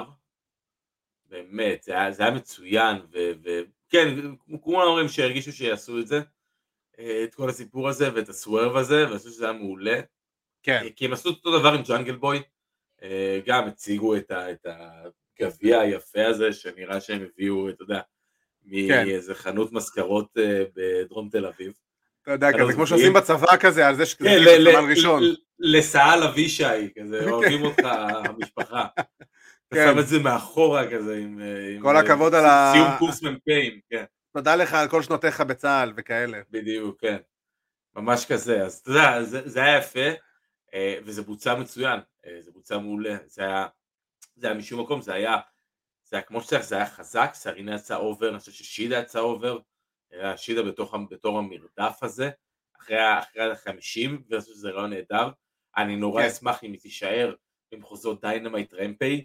באמת, זה היה מצוין, וכן, כולם אומרים שהרגישו שיעשו את זה, את כל הסיפור הזה ואת הסוורב הזה, ואני חושב שזה היה מעולה, כן. כי הם עשו אותו דבר עם ג'אנגל בוי, גם הציגו את הגביע היפה הזה, שנראה שהם הביאו, אתה יודע, מאיזה חנות מזכרות בדרום תל אביב. אתה יודע, כזה כמו שעושים בצבא כזה, על זה שזה סמל ראשון. לסעל אבישי, כזה, אוהבים אותך המשפחה. אתה שם את זה מאחורה כזה, עם כל הכבוד על סיום קורס מ"פים, כן. תודה לך על כל שנותיך בצה"ל וכאלה. בדיוק, כן. ממש כזה, אז אתה יודע, זה היה יפה, וזה בוצע מצוין, זה בוצע מעולה, זה היה משום מקום, זה היה כמו שצריך, זה היה חזק, סרינה יצא אובר, אני חושב ששידה יצא אובר, שידה בתור המרדף הזה, אחרי ה-50, ואני חושב שזה רעיון נהדר, אני נורא אשמח אם היא תישאר במחוזות דיינמייט רמפייג'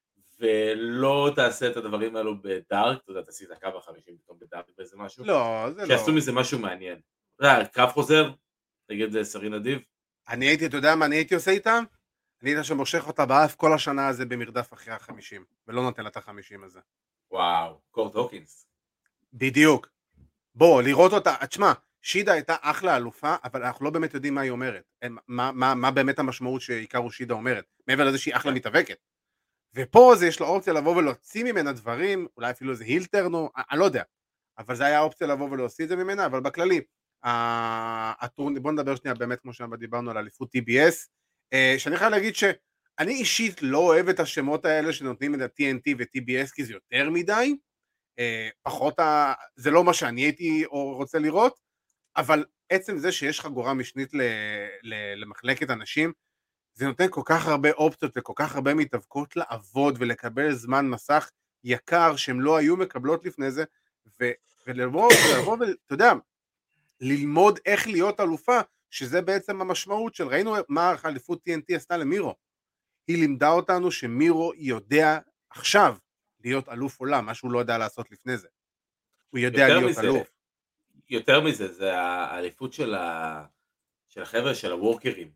ולא תעשה את הדברים האלו בדארק, אתה יודע, תעשי את הקו ה-50 פתאום בדארק באיזה משהו, לא, זה לא. שיעשו מזה משהו מעניין. קרב חוזר, תגיד סרינה דיב. אתה יודע מה אני הייתי עושה איתה? אני הייתה שמושך אותה באף כל השנה הזה במרדף אחרי ה-50, ולא נותן לה את ה-50 הזה. וואו, קורט הוקינס. בדיוק. בוא, לראות אותה, תשמע, שידה הייתה אחלה אלופה, אבל אנחנו לא באמת יודעים מה היא אומרת. מה באמת המשמעות שעיקרו שידה אומרת, מעבר לזה שהיא אחלה מתאבקת. ופה זה יש לו אופציה לבוא ולהוציא ממנה דברים, אולי אפילו איזה הילטרנו, אני לא יודע. אבל זה היה אופציה לבוא ולהוציא את זה ממנה, אבל בכללי, בוא נדבר שנייה באמת כמו שדיברנו על אליפות TBS, שאני חייב להגיד שאני אישית לא אוהב את השמות האלה שנותנים את ה-TNT ו-TBS, כי זה יותר מדי, פחות, זה לא מה שאני הייתי רוצה לראות, אבל עצם זה שיש חגורה משנית למחלקת אנשים, זה נותן כל כך הרבה אופציות וכל כך הרבה מתאבקות לעבוד ולקבל זמן מסך יקר שהם לא היו מקבלות לפני זה, ולבוא ואתה יודע, ללמוד איך להיות אלופה, שזה בעצם המשמעות של, ראינו מה האליפות TNT עשתה למירו, היא לימדה אותנו שמירו יודע עכשיו להיות אלוף עולם, מה שהוא לא יודע לעשות לפני זה, הוא יודע להיות אלוף. יותר מזה, זה האליפות של החבר'ה של הוורקרים,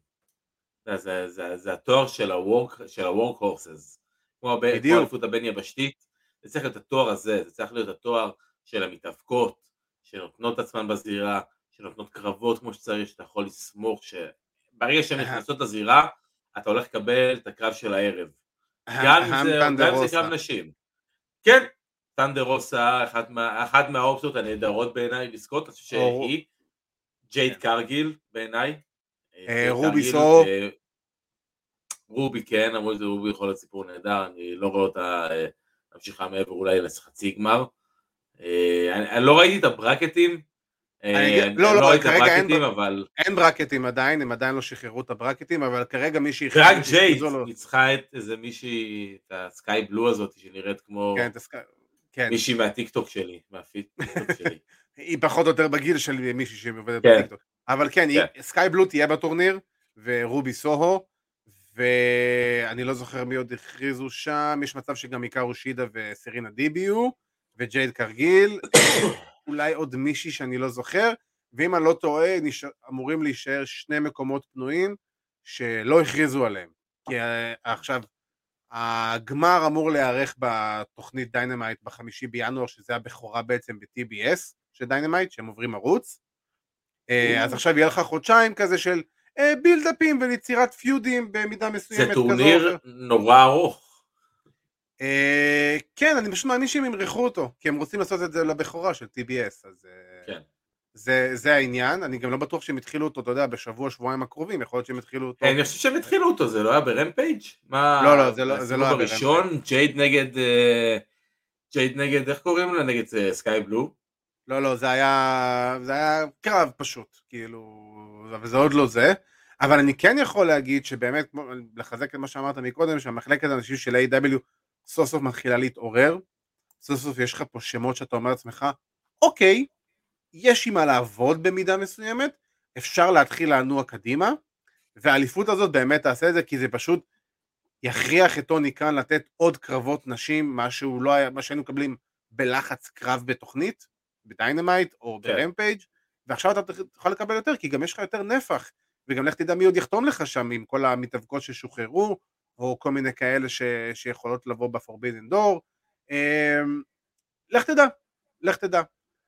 זה התואר של הוורק הורסס, כמו האליפות הבין יבשתית, זה צריך להיות התואר הזה, זה צריך להיות התואר של המתאבקות, שנותנות עצמן בזירה, שנותנות קרבות כמו שצריך, שאתה יכול לסמוך שברגע שהן נכנסות לזירה, אתה הולך לקבל את הקרב של הערב. גם אם זה קרב נשים. כן, טנדר רוסה, אחת מהאופציות הנהדרות בעיניי לזכות, אני חושב שהיא, ג'ייד קרגיל בעיניי. רובי סו. רובי כן, אמרו שזה רובי יכול להיות סיפור נהדר, אני לא רואה אותה ממשיכה מעבר אולי לחצי גמר. אני לא ראיתי את הברקטים, כרגע אין ברקטים עדיין, הם עדיין לא שחררו את הברקטים, אבל כרגע מישהי... רק ג'ייד ניצחה את איזה מישהי, את הסקאי בלו הזאת, שנראית כמו מישהי מהטיקטוק שלי, מהפיד טיקטוק שלי. היא פחות או יותר בגיל של מישהי שעובדת בטיקטוק. אבל כן, סקאי בלו תהיה בטורניר, ורובי סוהו, ואני לא זוכר מי עוד הכריזו שם, יש מצב שגם עיקרו שידה וסרינה דיביו, וג'ייד קרגיל, אולי עוד מישהי שאני לא זוכר, ואם אני לא טועה, אמורים להישאר 2 מקומות פנויים, שלא הכריזו עליהם, כי עכשיו, הגמר אמור להיערך בתוכנית דיינמייט ב5 בינואר, שזה הבכורה בעצם ב-TBS של דיינמייט, שהם עוברים ערוץ, אז עכשיו יהיה לך חודשיים כזה של בילדאפים וליצירת פיודים במידה מסוימת. זה טורניר נורא ארוך. כן, אני פשוט מאמין שהם ימרחו אותו, כי הם רוצים לעשות את זה לבכורה של TBS, אז כן. זה העניין, אני גם לא בטוח שהם התחילו אותו, אתה יודע, בשבוע, שבועיים הקרובים, יכול להיות שהם התחילו אותו. אני חושב שהם התחילו אותו, זה לא היה ברמפייג'? מה? לא, זה לא היה הסיבוב הראשון, ג'ייד נגד, איך קוראים לה? נגד סקאי בלו? לא, זה היה קרב פשוט, כאילו, וזה עוד לא זה, אבל אני כן יכול להגיד שבאמת, לחזק את מה שאמרת מקודם, שהמחלקת האנשים של A.W. סוף סוף מתחילה להתעורר, סוף סוף יש לך פה שמות שאתה אומר לעצמך, אוקיי, יש עם מה לעבוד במידה מסוימת, אפשר להתחיל לנוע קדימה, והאליפות הזאת באמת תעשה את זה, כי זה פשוט יכריח את טוני קאן לתת עוד קרבות נשים, מה שהיינו מקבלים בלחץ קרב בתוכנית, בדיינמייט או ברמפייג', ועכשיו אתה יכול לקבל יותר, כי גם יש לך יותר נפח, וגם לך תדע מי עוד יחתום לך שם, עם כל המתאבקות ששוחררו, או כל מיני כאלה שיכולות לבוא בפורבידן דור, לך תדע.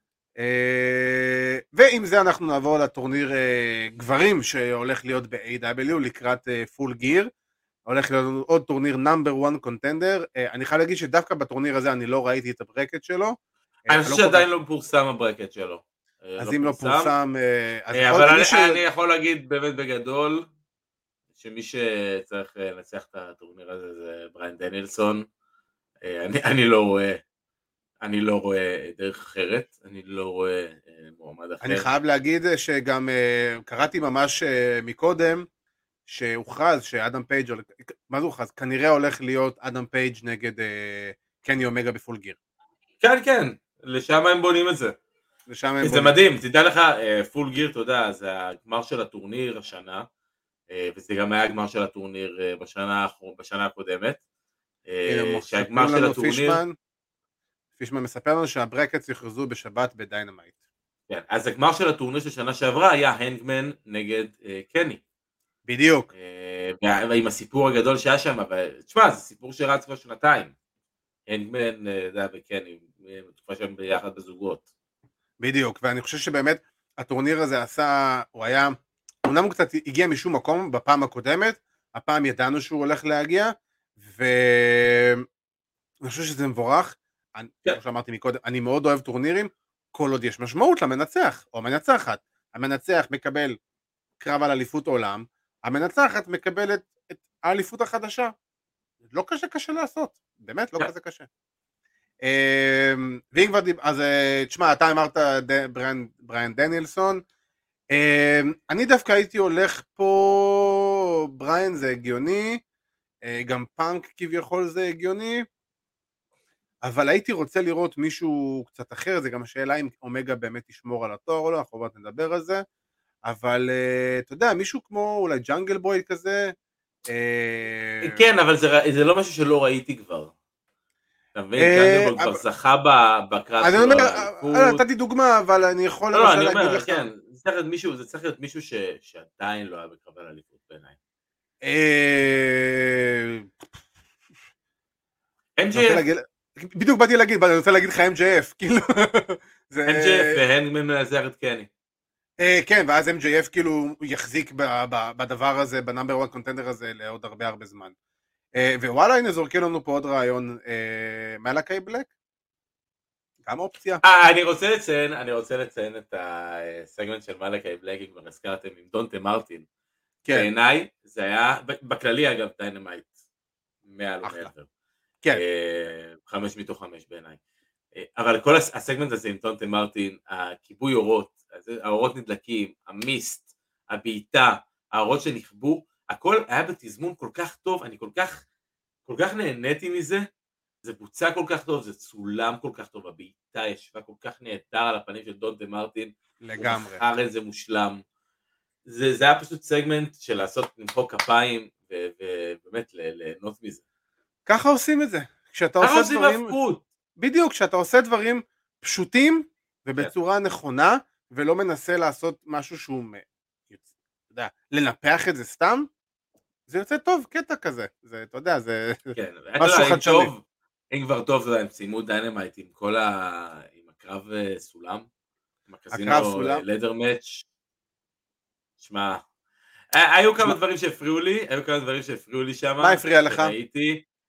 ועם זה אנחנו נעבור לטורניר גברים, שהולך להיות ב-AW, לקראת פול גיר, הולך להיות עוד טורניר נאמבר 1 קונטנדר, אני חייב להגיד שדווקא בטורניר הזה אני לא ראיתי את הברקט שלו. אני חושב שעדיין לא פורסם הברקט שלו. אז אם לא פורסם, אבל אני יכול להגיד באמת בגדול, שמי שצריך לנצח את הטורניר הזה זה בריין דנילסון, אני לא רואה דרך אחרת, אני לא רואה מועמד אחר. אני חייב להגיד שגם קראתי ממש מקודם, שהוכרז שאדם פייג' מה זה הוכרז? כנראה הולך להיות אדם פייג' נגד קני אומגה בפול גיר. כן, לשם הם בונים את זה. זה מדהים, תדע לך, פול גיר, אתה יודע, זה הגמר של הטורניר השנה, וזה גם היה הגמר של הטורניר בשנה הקודמת. שהגמר של הטורניר... פישמן מספר לנו שהברקטס יוכרזו בשבת בדיינמייט. כן, אז הגמר של הטורניר של שנה שעברה היה הנגמן נגד קני. בדיוק. ועם הסיפור הגדול שהיה שם, אבל תשמע, זה סיפור שרץ כבר שנתיים. הנגמן, זה וקני, בתקופה שהם ביחד בזוגות. בדיוק, ואני חושב שבאמת הטורניר הזה הוא היה, אומנם הוא קצת הגיע משום מקום בפעם הקודמת, הפעם ידענו שהוא הולך להגיע, ואני חושב שזה מבורך, כמו שאמרתי מקודם, אני מאוד אוהב טורנירים, כל עוד יש משמעות למנצח, או מנצחת, המנצח מקבל קרב על אליפות עולם, המנצחת מקבלת את האליפות החדשה, לא קשה לעשות, באמת לא כזה קשה. ואם כבר אז תשמע, אתה אמרת בריין דנילסון, אני דווקא הייתי הולך פה, בריין זה הגיוני, גם פאנק כביכול זה הגיוני, אבל הייתי רוצה לראות מישהו קצת אחר, זה גם השאלה אם אומגה באמת ישמור על התואר או לא, אנחנו עוד נדבר על זה, אבל אתה יודע, מישהו כמו אולי ג'אנגל בוי כזה, כן, אבל זה לא משהו שלא ראיתי כבר. אתה מבין, ג'אנגל בוי כבר זכה בקרב שלו. אני אומר, נתתי דוגמה, אבל אני יכול לא, אני אומר, כן, זה צריך להיות מישהו שעדיין לא היה בקרב על אליפות בעיניי. MJF. בדיוק באתי להגיד, אני רוצה להגיד לך MJF, כאילו. MJF והנגמן מנצח את קני. כן, ואז MJF כאילו יחזיק בדבר הזה, בנאמבר 1 קונטנדר הזה, לעוד הרבה זמן. ווואלה, הנה זורקים לנו פה עוד רעיון, מלאקי בלק? גם אופציה. אני רוצה לציין את הסגמנט של מלאקי בלק, אם כבר הזכרתם עם דונטה מרטין. בעיניי, זה היה, בכללי אגב, דיינמייט, 100 לא מעבר. כן. 5 מתוך 5 בעיניי. אבל כל הסגמנט הזה עם דונטה מרטין, הכיבוי אורות, האורות נדלקים, המיסט, הבעיטה, האורות שנכבו, הכל היה בתזמון כל כך טוב, אני כל כך נהניתי מזה, זה בוצע כל כך טוב, זה צולם כל כך טוב, הבעיטה ישבה כל כך נהדר על הפנים של דונטה מרטין, לגמרי. הוא בחר איזה מושלם, זה היה פשוט סגמנט של לעשות למחוא כפיים, ובאמת ליהנות מזה. ככה עושים את זה, כשאתה עושה דברים, בדיוק, כשאתה עושה דברים פשוטים, ובצורה נכונה, ולא מנסה לעשות משהו שהוא, אתה יודע, לנפח את זה סתם, זה יוצא טוב, קטע כזה, זה, אתה יודע, זה משהו חדשני. אם כבר טוב, הם סיימו דיינמייט עם כל עם הקרב סולם, עם הקזינו לדר מאץ', שמע, היו כמה דברים שהפריעו לי שם. מה הפריע לך?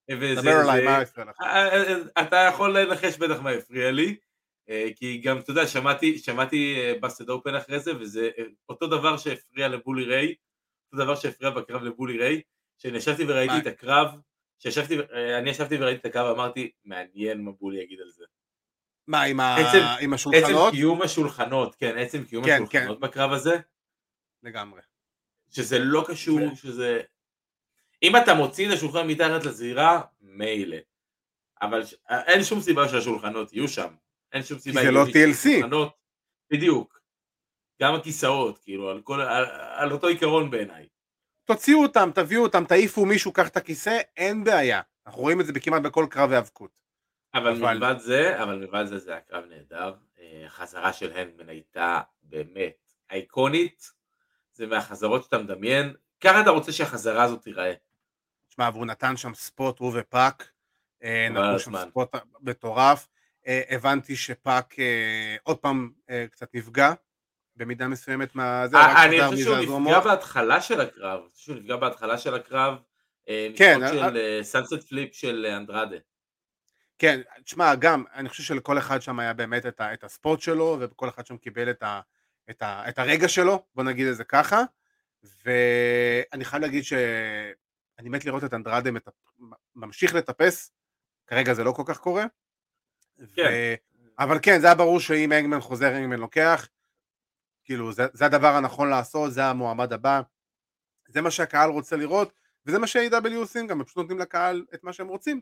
דבר עליי, מה הפריע לך? אתה יכול לנחש בטח מה הפריע לי, כי גם, אתה יודע, שמעתי בסטד אופן אחרי זה, וזה אותו דבר שהפריע לבולי ריי, אותו דבר שהפריע בקרב לבולי ריי, שאני ישבתי וראיתי את הקרב, אני ישבתי וראיתי את הקרב, אמרתי, מעניין מה בולי יגיד על זה. מה, עם השולחנות? עצם קיום השולחנות, כן, עצם קיום השולחנות בקרב הזה. לגמרי. שזה לא קשור, שזה... אם אתה מוציא את השולחן מתחת לזירה, מילא. אבל אין שום סיבה שהשולחנות יהיו שם. אין שום סיבה... כי זה לא TLC. בדיוק. גם הכיסאות, כאילו, על אותו עיקרון בעיניי. תוציאו אותם, תביאו אותם, תעיפו מישהו, קח את הכיסא, אין בעיה. אנחנו רואים את זה כמעט בכל קרב האבקות. אבל מלבד זה, זה הקרב נהדר. החזרה של הנגמן הייתה באמת אייקונית. זה מהחזרות שאתה מדמיין. ככה אתה רוצה שהחזרה הזאת תיראה. תשמע, והוא נתן שם ספוט, הוא ופאק. נתנו שם ספוט מטורף. הבנתי שפאק עוד פעם קצת נפגע. במידה מסוימת מהזה, אני חושב שהוא נפגע בהתחלה של הקרב, כן, של סאנסט פליפ של אנדרדה. כן, תשמע, גם, אני חושב שלכל אחד שם היה באמת את הספוט שלו, וכל אחד שם קיבל את הרגע שלו, בוא נגיד את זה ככה, ואני חייב להגיד שאני מת לראות את אנדרדה ממשיך לטפס, כרגע זה לא כל כך קורה, כן. אבל כן, זה היה ברור שאם הנגמן חוזר, הנגמן לוקח, כאילו, זה הדבר הנכון לעשות, זה המועמד הבא, זה מה שהקהל רוצה לראות, וזה מה שה-AW עושים, גם הם פשוט נותנים לקהל את מה שהם רוצים.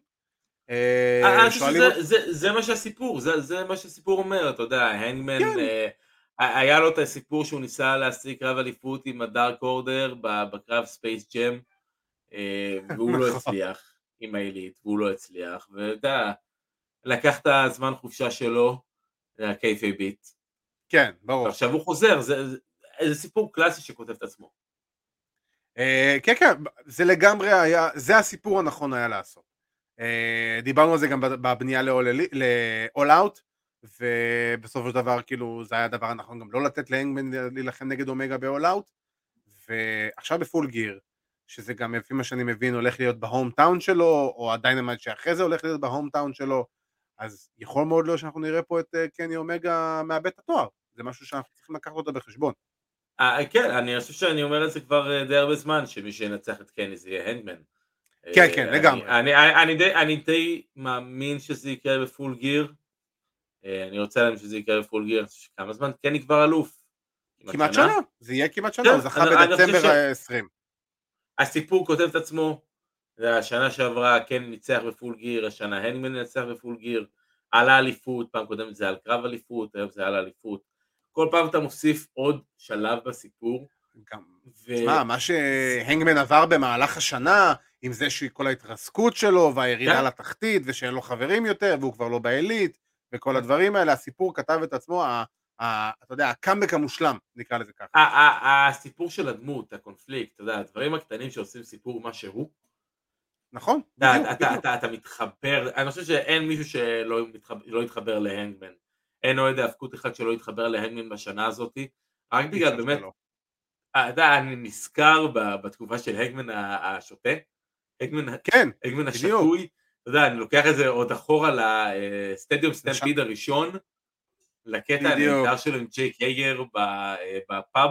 זה מה שהסיפור, זה מה שהסיפור אומר, אתה יודע, הנגמן, היה לו את הסיפור שהוא ניסה להשיג קרב אליפות עם הדארק אורדר בקרב ספייס ג'ם, והוא לא הצליח עם העילית, והוא לא הצליח, ואתה יודע, לקח את הזמן חופשה שלו, הקייפי ביט, כן, ברור. עכשיו הוא חוזר, זה סיפור קלאסי שכותב את עצמו. כן, כן, זה לגמרי היה, זה הסיפור הנכון היה לעשות. דיברנו על זה גם בבנייה ל-All Out, ובסופו של דבר, כאילו, זה היה הדבר הנכון גם לא לתת להנגמן להילחם נגד אומגה ב-All Out, ועכשיו בפול גיר, שזה גם לפי מה שאני מבין הולך להיות בהום טאון שלו, או הדיינמייט שאחרי זה הולך להיות בהום טאון שלו, אז יכול מאוד להיות שאנחנו נראה פה את קני אומגה מאבד את התואר. זה משהו שאנחנו צריכים לקחת אותו בחשבון. כן, אני חושב שאני אומר את זה כבר די הרבה זמן, שמי שינצח את קני זה יהיה הנגמן. כן, כן, לגמרי. אני די מאמין שזה יקרה בפול גיר, אני רוצה להם שזה יקרה בפול גיר, כמה זמן קני כבר אלוף? כמעט שנה, זה יהיה כמעט שנה, הוא זכה בדצמבר 20. הסיפור כותב את עצמו, השנה שעברה קני ניצח בפול גיר, השנה הנגמן ניצח בפול גיר, על האליפות, פעם קודמת זה על קרב אליפות, היום זה על האליפות, כל פעם אתה מוסיף עוד שלב בסיפור. תשמע, מה שהנגמן עבר במהלך השנה, עם זה שכל ההתרסקות שלו, והירידה לתחתית, ושאין לו חברים יותר, והוא כבר לא בעילית, וכל הדברים האלה, הסיפור כתב את עצמו, אתה יודע, הקאמבק המושלם, נקרא לזה ככה. הסיפור של הדמות, הקונפליקט, אתה יודע, הדברים הקטנים שעושים סיפור מה שהוא, נכון, אתה מתחבר, אני חושב שאין מישהו שלא יתחבר להנגמן, אין אוהד האבקות אחד שלא יתחבר להנגמן בשנה הזאת, רק בגלל באמת, אתה יודע, אני נזכר בתקופה של הנגמן השוטה, הנגמן השטוי, אתה יודע, אני לוקח את זה עוד אחורה לסטדיום סטמפיד הראשון, לקטע הנהדר שלו עם ג'ייק יאגר בפאב,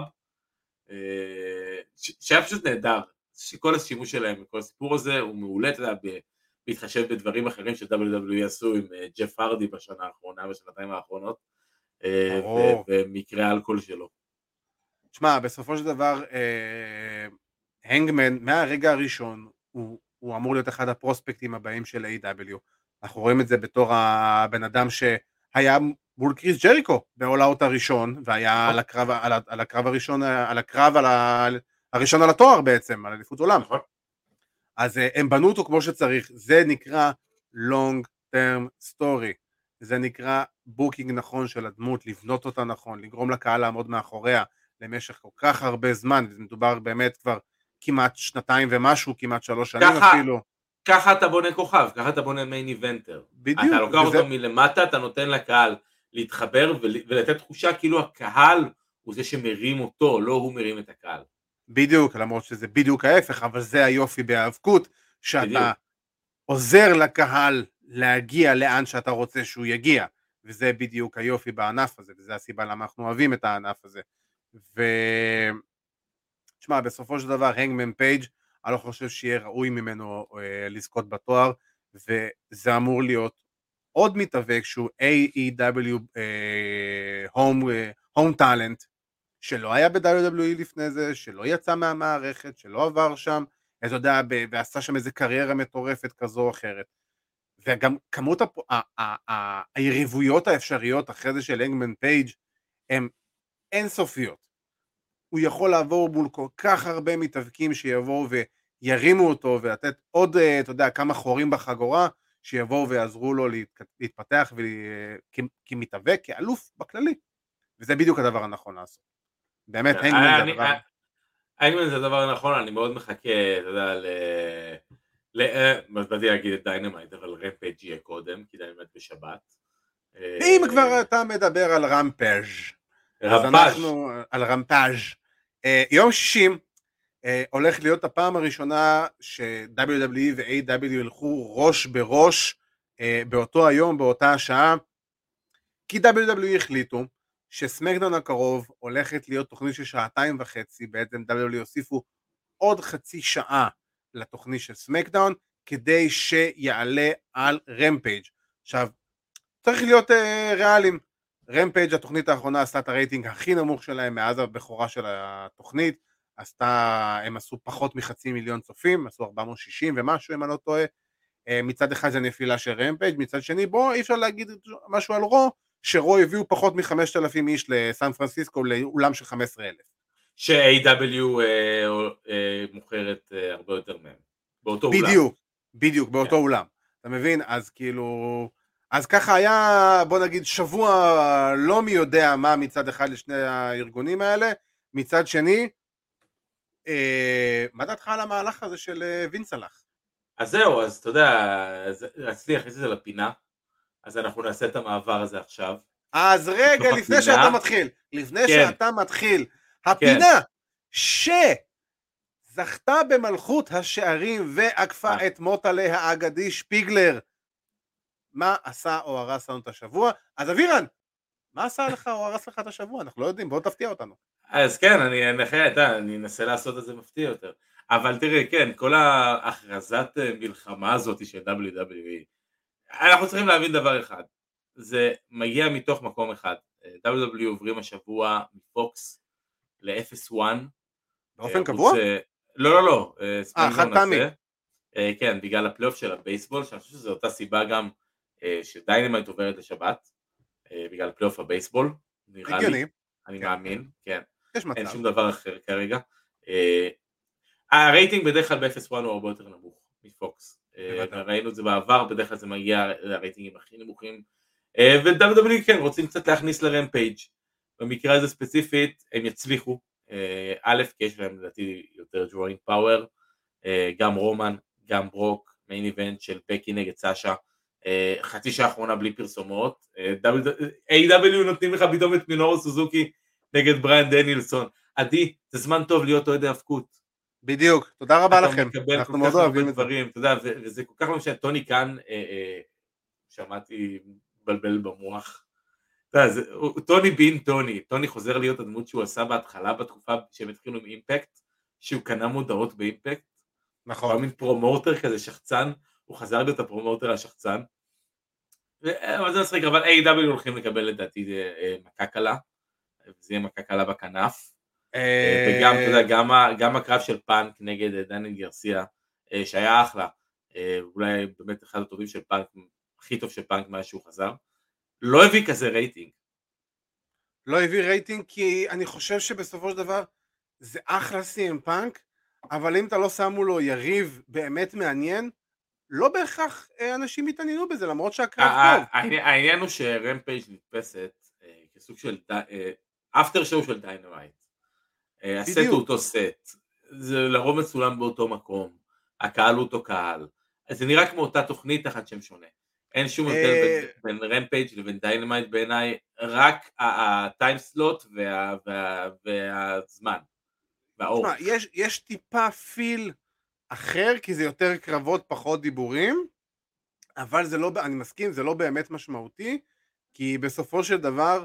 שהיה פשוט נהדר, שכל השימוש שלהם, כל הסיפור הזה הוא מעולה, אתה יודע, בהתחשב בדברים אחרים ש-WWE עשו עם ג'ף הרדי בשנה האחרונה, בשנתיים האחרונות, ומקרה האלכוהול שלו. תשמע, בסופו של דבר, הנגמן, מהרגע הראשון, הוא אמור להיות אחד הפרוספקטים הבאים של A.W. אנחנו רואים את זה בתור הבן אדם שהיה מול קריס ג'ריקו ב-All Out הראשון, והיה על הקרב הראשון, הראשון על התואר בעצם, על אליפות עולם. אז הם בנו אותו כמו שצריך, זה נקרא long term story, זה נקרא בוקינג נכון של הדמות, לבנות אותה נכון, לגרום לקהל לעמוד מאחוריה למשך כל כך הרבה זמן, וזה מדובר באמת כבר כמעט שנתיים ומשהו, כמעט 3 שנים אפילו. ככה אתה בונה כוכב, ככה אתה בונה מיין איבנטר. בדיוק. אתה לוקח אותו מלמטה, אתה נותן לקהל להתחבר ולתת תחושה כאילו הקהל הוא זה שמרים אותו, לא הוא מרים את הקהל. בדיוק, למרות שזה בדיוק ההפך, אבל זה היופי בהאבקות, שאתה עוזר לקהל להגיע לאן שאתה רוצה שהוא יגיע, וזה בדיוק היופי בענף הזה, וזה הסיבה למה אנחנו אוהבים את הענף הזה. תשמע, בסופו של דבר, הנגמן פייג', אני לא חושב שיהיה ראוי ממנו לזכות בתואר, וזה אמור להיות עוד מתאבק שהוא AEW Home Talent, שלא היה ב-WWE לפני זה, שלא יצא מהמערכת, שלא עבר שם, אתה יודע, ועשה שם איזה קריירה מטורפת כזו או אחרת. וגם כמות היריבויות האפשריות אחרי זה של הנגמן פייג' הן אינסופיות. הוא יכול לעבור מול כל כך הרבה מתאבקים שיבואו וירימו אותו ולתת עוד, אתה יודע, כמה חורים בחגורה, שיבואו ויעזרו לו להתפתח כמתאבק, כאלוף בכללי. וזה בדיוק הדבר הנכון לעשות. באמת, הנגמן זה הדבר. הנגמן זה הדבר הנכון, אני מאוד מחכה, אתה יודע, באתי להגיד את דיינמייט, אבל רמפייג' יהיה קודם, כי דיינמייט בשבת. ואם כבר אתה מדבר על רמפאז', אז אנחנו על רמפאז'. יום 60 הולך להיות הפעם הראשונה ש-WWE ו-AW ילכו ראש בראש באותו היום, באותה השעה, כי WWE החליטו שסמקדאון הקרוב הולכת להיות תוכנית של 2.5 בעצם WWE הוסיפו עוד חצי שעה לתוכנית של סמקדאון, כדי שיעלה על רמפייג'. עכשיו, צריך להיות ריאליים, רמפייג' התוכנית האחרונה עשתה את הרייטינג הכי נמוך שלהם מאז הבכורה של התוכנית, הם עשו פחות מ500,000 צופים, עשו 460 ומשהו אם אני לא טועה, מצד אחד זה נפילה של רמפייג', מצד שני בוא אי אפשר להגיד משהו על רו, שרו הביאו פחות מ5,000 איש לסן פרנסיסקו לאולם של 15,000. ש-AW מוכרת הרבה יותר מהם, באותו אולם. בדיוק, באותו אולם. אתה מבין? אז כאילו, אז ככה היה, בוא נגיד, שבוע לא מי יודע מה מצד אחד לשני הארגונים האלה, מצד שני, מה דעתך על המהלך הזה של וינס הלך? אז זהו, אז אתה יודע, רציתי להכניס את זה לפינה, אז אנחנו נעשה את המעבר הזה עכשיו. אז רגע, לפני שאתה מתחיל, הפינה שזכתה במלכות השערים ועקפה את מוטלה האגדי שפיגלר, מה עשה או הרס לנו את השבוע? אז אבירן, מה עשה לך או הרס לך את השבוע? אנחנו לא יודעים, בוא תפתיע אותנו. אז כן, אני אנסה לעשות את זה מפתיע יותר. אבל תראה, כן, כל ההכרזת מלחמה הזאת של WWE, אנחנו צריכים להבין דבר אחד, זה מגיע מתוך מקום אחד. WWE עוברים השבוע מפוקס ל-0-1. באופן קבוע? לא. חד פעמי. כן, בגלל הפלייאוף של הבייסבול, שאני חושב שזו אותה סיבה גם שדיינמייט עוברת לשבת, בגלל פלייאוף הבייסבול, נראה לי, אני מאמין, כן. אין שום דבר אחר כרגע. הרייטינג בדרך כלל ב-0-1 הוא הרבה יותר נמוך מפוקס. ראינו את זה בעבר, בדרך כלל זה מגיע לרייטינגים הכי נמוכים. ו-WWE כן, רוצים קצת להכניס לרמפייג'. במקרה הזה ספציפית, הם יצליחו. א', כי יש להם לדעתי יותר drawing power. גם רומן, גם ברוק, מיין איבנט של בקי נגד סאשה. חצי שעה האחרונה בלי פרסומות. AW נותנים לך פתאום את מינורו סוזוקי נגד בריאן דנילסון. עדי, זה זמן טוב להיות אוהד ההפקות. בדיוק, תודה רבה לכם. אנחנו מאוד אוהבים את דברים, אתה יודע, וזה כל כך לא משנה, טוני כאן, שמעתי בלבל במוח, טוני בין טוני חוזר להיות הדמות שהוא עשה בהתחלה, בתקופה שהם התחילו עם אימפקט, שהוא קנה מודעות באימפקט, נכון. הוא מין פרומוטר כזה שחצן, הוא חזר להיות הפרומוטר השחצן, אבל זה מצחיק, אבל A.W. הולכים לקבל לדעתי מכה קלה, וזה יהיה מכה קלה בכנף, וגם, אתה יודע, גם הקרב של פאנק נגד דניאל גרסיה, שהיה אחלה, אולי באמת אחד הטובים של פאנק, הכי טוב של פאנק מאז שהוא חזר, לא הביא כזה רייטינג. לא הביא רייטינג כי אני חושב שבסופו של דבר זה אחלה סי.אם פאנק, אבל אם אתה לא שמו לו יריב באמת מעניין, לא בהכרח אנשים יתעניינו בזה, למרות שהקרב טוב. העניין הוא שרמפייג' נתפסת כסוג של אפטר שואו של דיינמייט. הסט הוא אותו סט, זה לרוב מצולם באותו מקום, הקהל הוא אותו קהל, אז זה נראה כמו אותה תוכנית תחת שם שונה. אין שום הבדל בין רמפייג' לבין דיינמייט בעיניי, רק הטיים סלוט והזמן והאורך. יש טיפה פיל אחר, כי זה יותר קרבות פחות דיבורים, אבל זה לא, אני מסכים, זה לא באמת משמעותי, כי בסופו של דבר,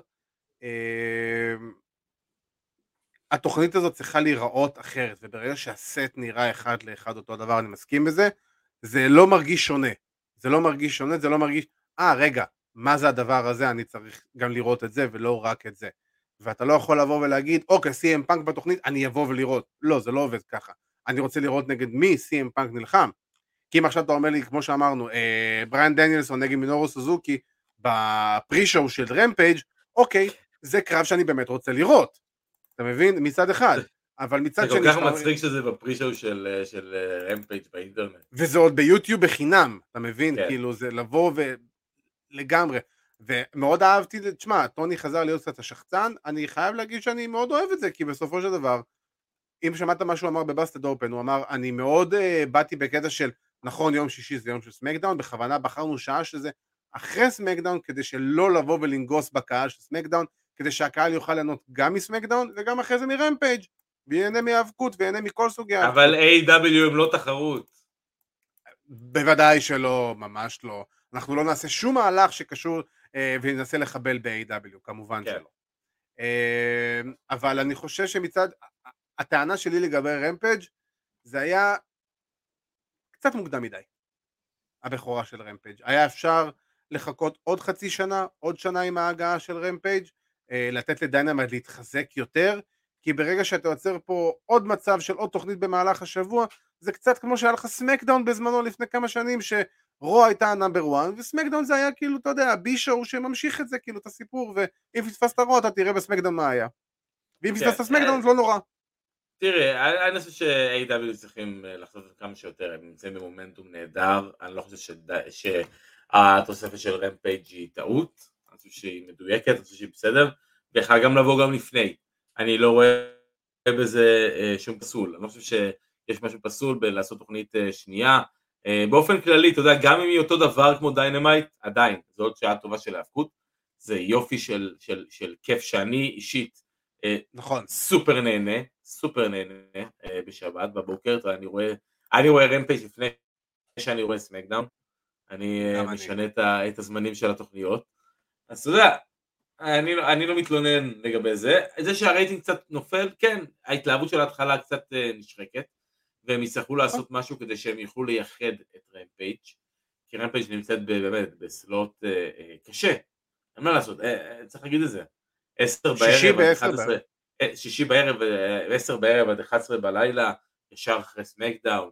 התוכנית הזאת צריכה להיראות אחרת, וברגע שהסט נראה אחד לאחד אותו דבר, אני מסכים בזה, זה לא מרגיש שונה, זה לא מרגיש שונה, זה לא מרגיש, רגע, מה זה הדבר הזה, אני צריך גם לראות את זה ולא רק את זה, ואתה לא יכול לבוא ולהגיד, אוקיי, CM פאנק בתוכנית, אני אבוא ולראות, לא, זה לא עובד ככה, אני רוצה לראות נגד מי CM פאנק נלחם, כי אם עכשיו אתה אומר לי, כמו שאמרנו, בריאן דניאלסון נגד מינורו סוזוקי, בפרי-שואו של רמפייג', אוקיי, זה קרב שאני באמת רוצה לראות, אתה מבין? מצד אחד, אבל מצד שני... זה כל כך מצחיק שזה בפרי-שואו של רמפייג' באינטרנט. וזה עוד ביוטיוב בחינם, אתה מבין? כאילו זה לבוא ולגמרי, ומאוד אהבתי, תשמע, טוני חזר להיות קצת השחצן, אני חייב להגיד שאני מאוד אוהב את זה, כי בסופו של דבר, אם שמעת מה שהוא אמר בבאסטד אופן, הוא אמר, אני מאוד באתי בקטע של, נכון, יום שישי זה יום של סמקדאון, בכוונה בחרנו שעה שזה אחרי סמקדאון, כדי שלא לבוא ולנגוס בקהל של סמקדאון, כדי שהקהל יוכל ליהנות גם מסמקדאון, וגם אחרי זה מרמפייג', ויהנה מהאבקות, ויהנה מכל סוגי האבקות. אבל A.W. הם לא תחרות. בוודאי שלא, ממש לא. אנחנו לא נעשה שום מהלך שקשור, וננסה לחבל ב-A.W, כמובן שלא. אבל אני חושב שמצד, הטענה שלי לגבי רמפייג' זה היה קצת מוקדם מדי, הבכורה של רמפייג'. היה אפשר לחכות עוד חצי שנה, עוד שנה עם ההגעה של רמפייג', לתת לדיינמייט להתחזק יותר, כי ברגע שאתה יוצר פה עוד מצב של עוד תוכנית במהלך השבוע, זה קצת כמו שהיה לך סמקדאון בזמנו לפני כמה שנים, שרו הייתה נאמבר 1, וסמקדאון זה היה כאילו, אתה יודע, בי-שואו שממשיך את זה, כאילו את הסיפור, ואם פספסת רו אתה תראה בסמקדאון מה היה. ואם פספסת סמקדאון זה לא נורא. תראה, אני חושב ש-A.W. צריכים לחשוב כמה שיותר, הם נמצאים במומנטום נהדר, אני לא חושב שהתוספת של רמפייג' היא טעות, אני חושב שהיא מדויקת, אני חושב שהיא בסדר, ויכולה גם לבוא גם לפני, אני לא רואה בזה שום פסול, אני לא חושב שיש משהו פסול בלעשות תוכנית שנייה, באופן כללי, אתה יודע, גם אם היא אותו דבר כמו דיינמייט, עדיין, זו עוד שעה טובה של ההפקות, זה יופי של כיף שאני אישית, נכון. סופר נהנה בשבת בבוקר, אני רואה רמפייג' לפני שאני רואה סמקדאון, אני משנה את הזמנים של התוכניות, אז אתה יודע, אני לא מתלונן לגבי זה שהרייטינג קצת נופל, כן, ההתלהבות של ההתחלה קצת נשחקת, והם יצטרכו לעשות משהו כדי שהם יוכלו לייחד את רמפייג', כי רמפייג' נמצאת באמת בסלוט קשה, אין מה לעשות, צריך להגיד את זה, 10 בערב עד 11, שישי בערב, 10 בערב עד 11 בלילה, ישר אחרי סמקדאון,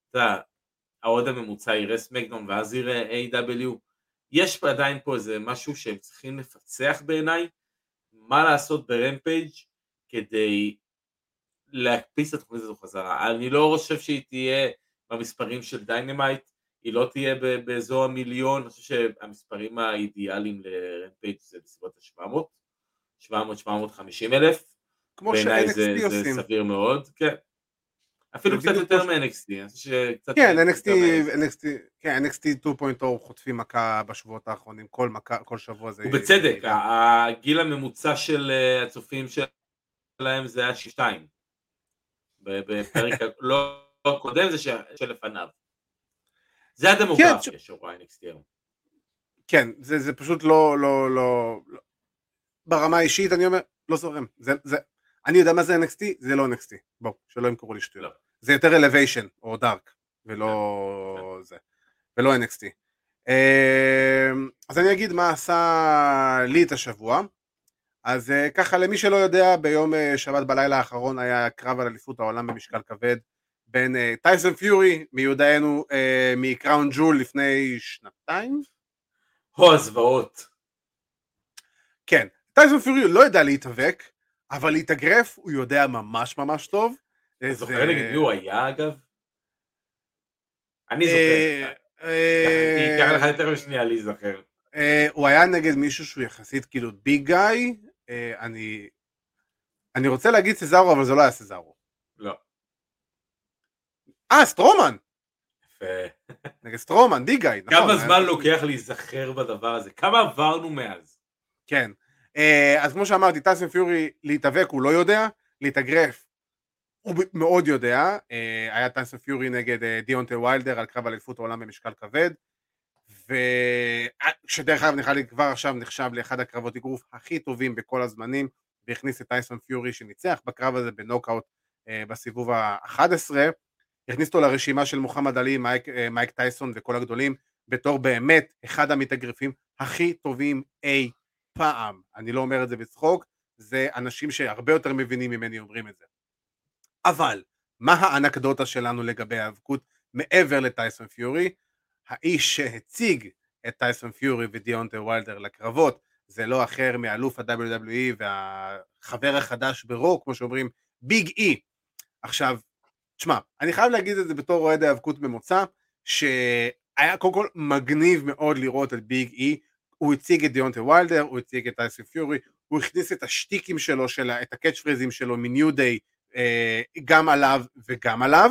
העוד הממוצע יראה סמקדאון ואז יראה A.W, יש עדיין פה איזה משהו שהם צריכים לפצח בעיניי, מה לעשות ברמפייג' כדי להקפיץ את התוכנית הזו חזרה, אני לא חושב שהיא תהיה במספרים של דיינמייט, היא לא תהיה באזור המיליון, אני חושב שהמספרים האידיאליים לרמפייג' זה בסביבות ה-700, 700-750 אלף, בעיניי זה סביר מאוד, כן. אפילו קצת יותר מ-NXT, כן, NXT 2.0 חוטפים מכה בשבועות האחרונים, כל שבוע זה... ובצדק, הגיל הממוצע של הצופים שלהם זה היה 2, בפרק לא קודם זה שלפניו. זה הדמוגרפיה שרואה NXT היום. כן, זה פשוט לא... ברמה האישית אני אומר, לא זורם, אני יודע מה זה NXT, זה לא NXT, בואו, שלא ימכרו לי שטויות, זה יותר Elevation או Dark, ולא זה, ולא NXT. אז אני אגיד מה עשה לי את השבוע, אז ככה למי שלא יודע, ביום שבת בלילה האחרון היה קרב על אליפות העולם במשקל כבד, בין טייסון פיורי, מיודענו מקראון ג'ול לפני 2 הזוועות. כן, טייסון פיורי לא ידע להתאבק, אבל להתאגרף הוא יודע ממש ממש טוב. אתה זוכר נגד מי הוא היה אגב? אני זוכר. אני אקח לך יותר משנייה להיזכר. הוא היה נגד מישהו שהוא יחסית כאילו ביג גאי, אני רוצה להגיד סזארו, אבל זה לא היה סזארו. לא. סטרומן! יפה. נגד סטרומן, ביג גאי. כמה זמן לוקח להיזכר בדבר הזה? כמה עברנו מאז? כן. אז כמו שאמרתי, טייסון פיורי להתאבק הוא לא יודע, להתאגרף הוא מאוד יודע, היה טייסון פיורי נגד דיונטה ויילדר על קרב אליפות העולם במשקל כבד, ושדרך אגב כבר עכשיו נחשב לאחד הקרבות אגרוף הכי טובים בכל הזמנים, והכניס את טייסון פיורי שניצח בקרב הזה בנוקאוט בסיבוב ה-11, הכניס אותו לרשימה של מוחמד עלי, מייק טייסון וכל הגדולים, בתור באמת אחד המתאגרפים הכי טובים אי פעם. אני לא אומר את זה בצחוק, זה אנשים שהרבה יותר מבינים ממני אומרים את זה. אבל מה האנקדוטה שלנו לגבי האבקות מעבר לטייסון פיורי? האיש שהציג את טייסון פיורי ודיונטה ויילדר לקרבות זה לא אחר מאלוף ה-WWE והחבר החדש ברו, כמו שאומרים, ביג אי. עכשיו, תשמע, אני חייב להגיד את זה בתור אוהד האבקות ממוצע, שהיה קודם כל מגניב מאוד לראות את ביג אי, הוא הציג את דיונטה ויילדר, הוא הציג את טייסון פיורי, הוא הכניס את השטיקים שלו, את הקאץ' פריזים שלו מניו דיי, גם עליו וגם עליו,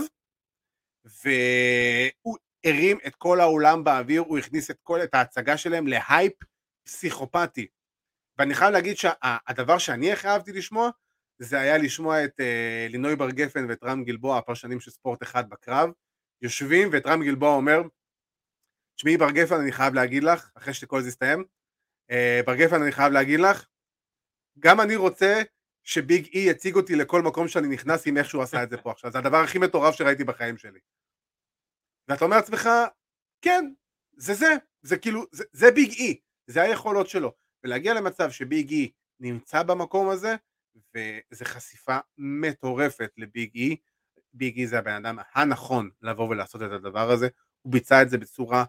והוא הרים את כל העולם באוויר, הוא הכניס את ההצגה שלהם להייפ פסיכופתי, ואני חייב להגיד שהדבר שאני הכי אהבתי לשמוע, זה היה לשמוע את לינוי בר גפן ואת רם גלבוע, הפרשנים של ספורט אחד בקרב, יושבים ואת רם גלבוע אומר, תשמעי בר גפן אני חייב להגיד לך, אחרי שכל זה יסתיים, בר גפן אני חייב להגיד לך, גם אני רוצה שביג אי יציג אותי לכל מקום שאני נכנס עם איך שהוא עשה את זה פה עכשיו, זה הדבר הכי מטורף שראיתי בחיים שלי. ואתה אומר לעצמך, כן, זה כאילו, זה ביג אי, זה היכולות שלו, ולהגיע למצב שביג אי נמצא במקום הזה, וזה חשיפה מטורפת לביג אי, ביג אי זה הבן אדם הנכון לבוא ולעשות את הדבר הזה, הוא ביצע את זה בצורה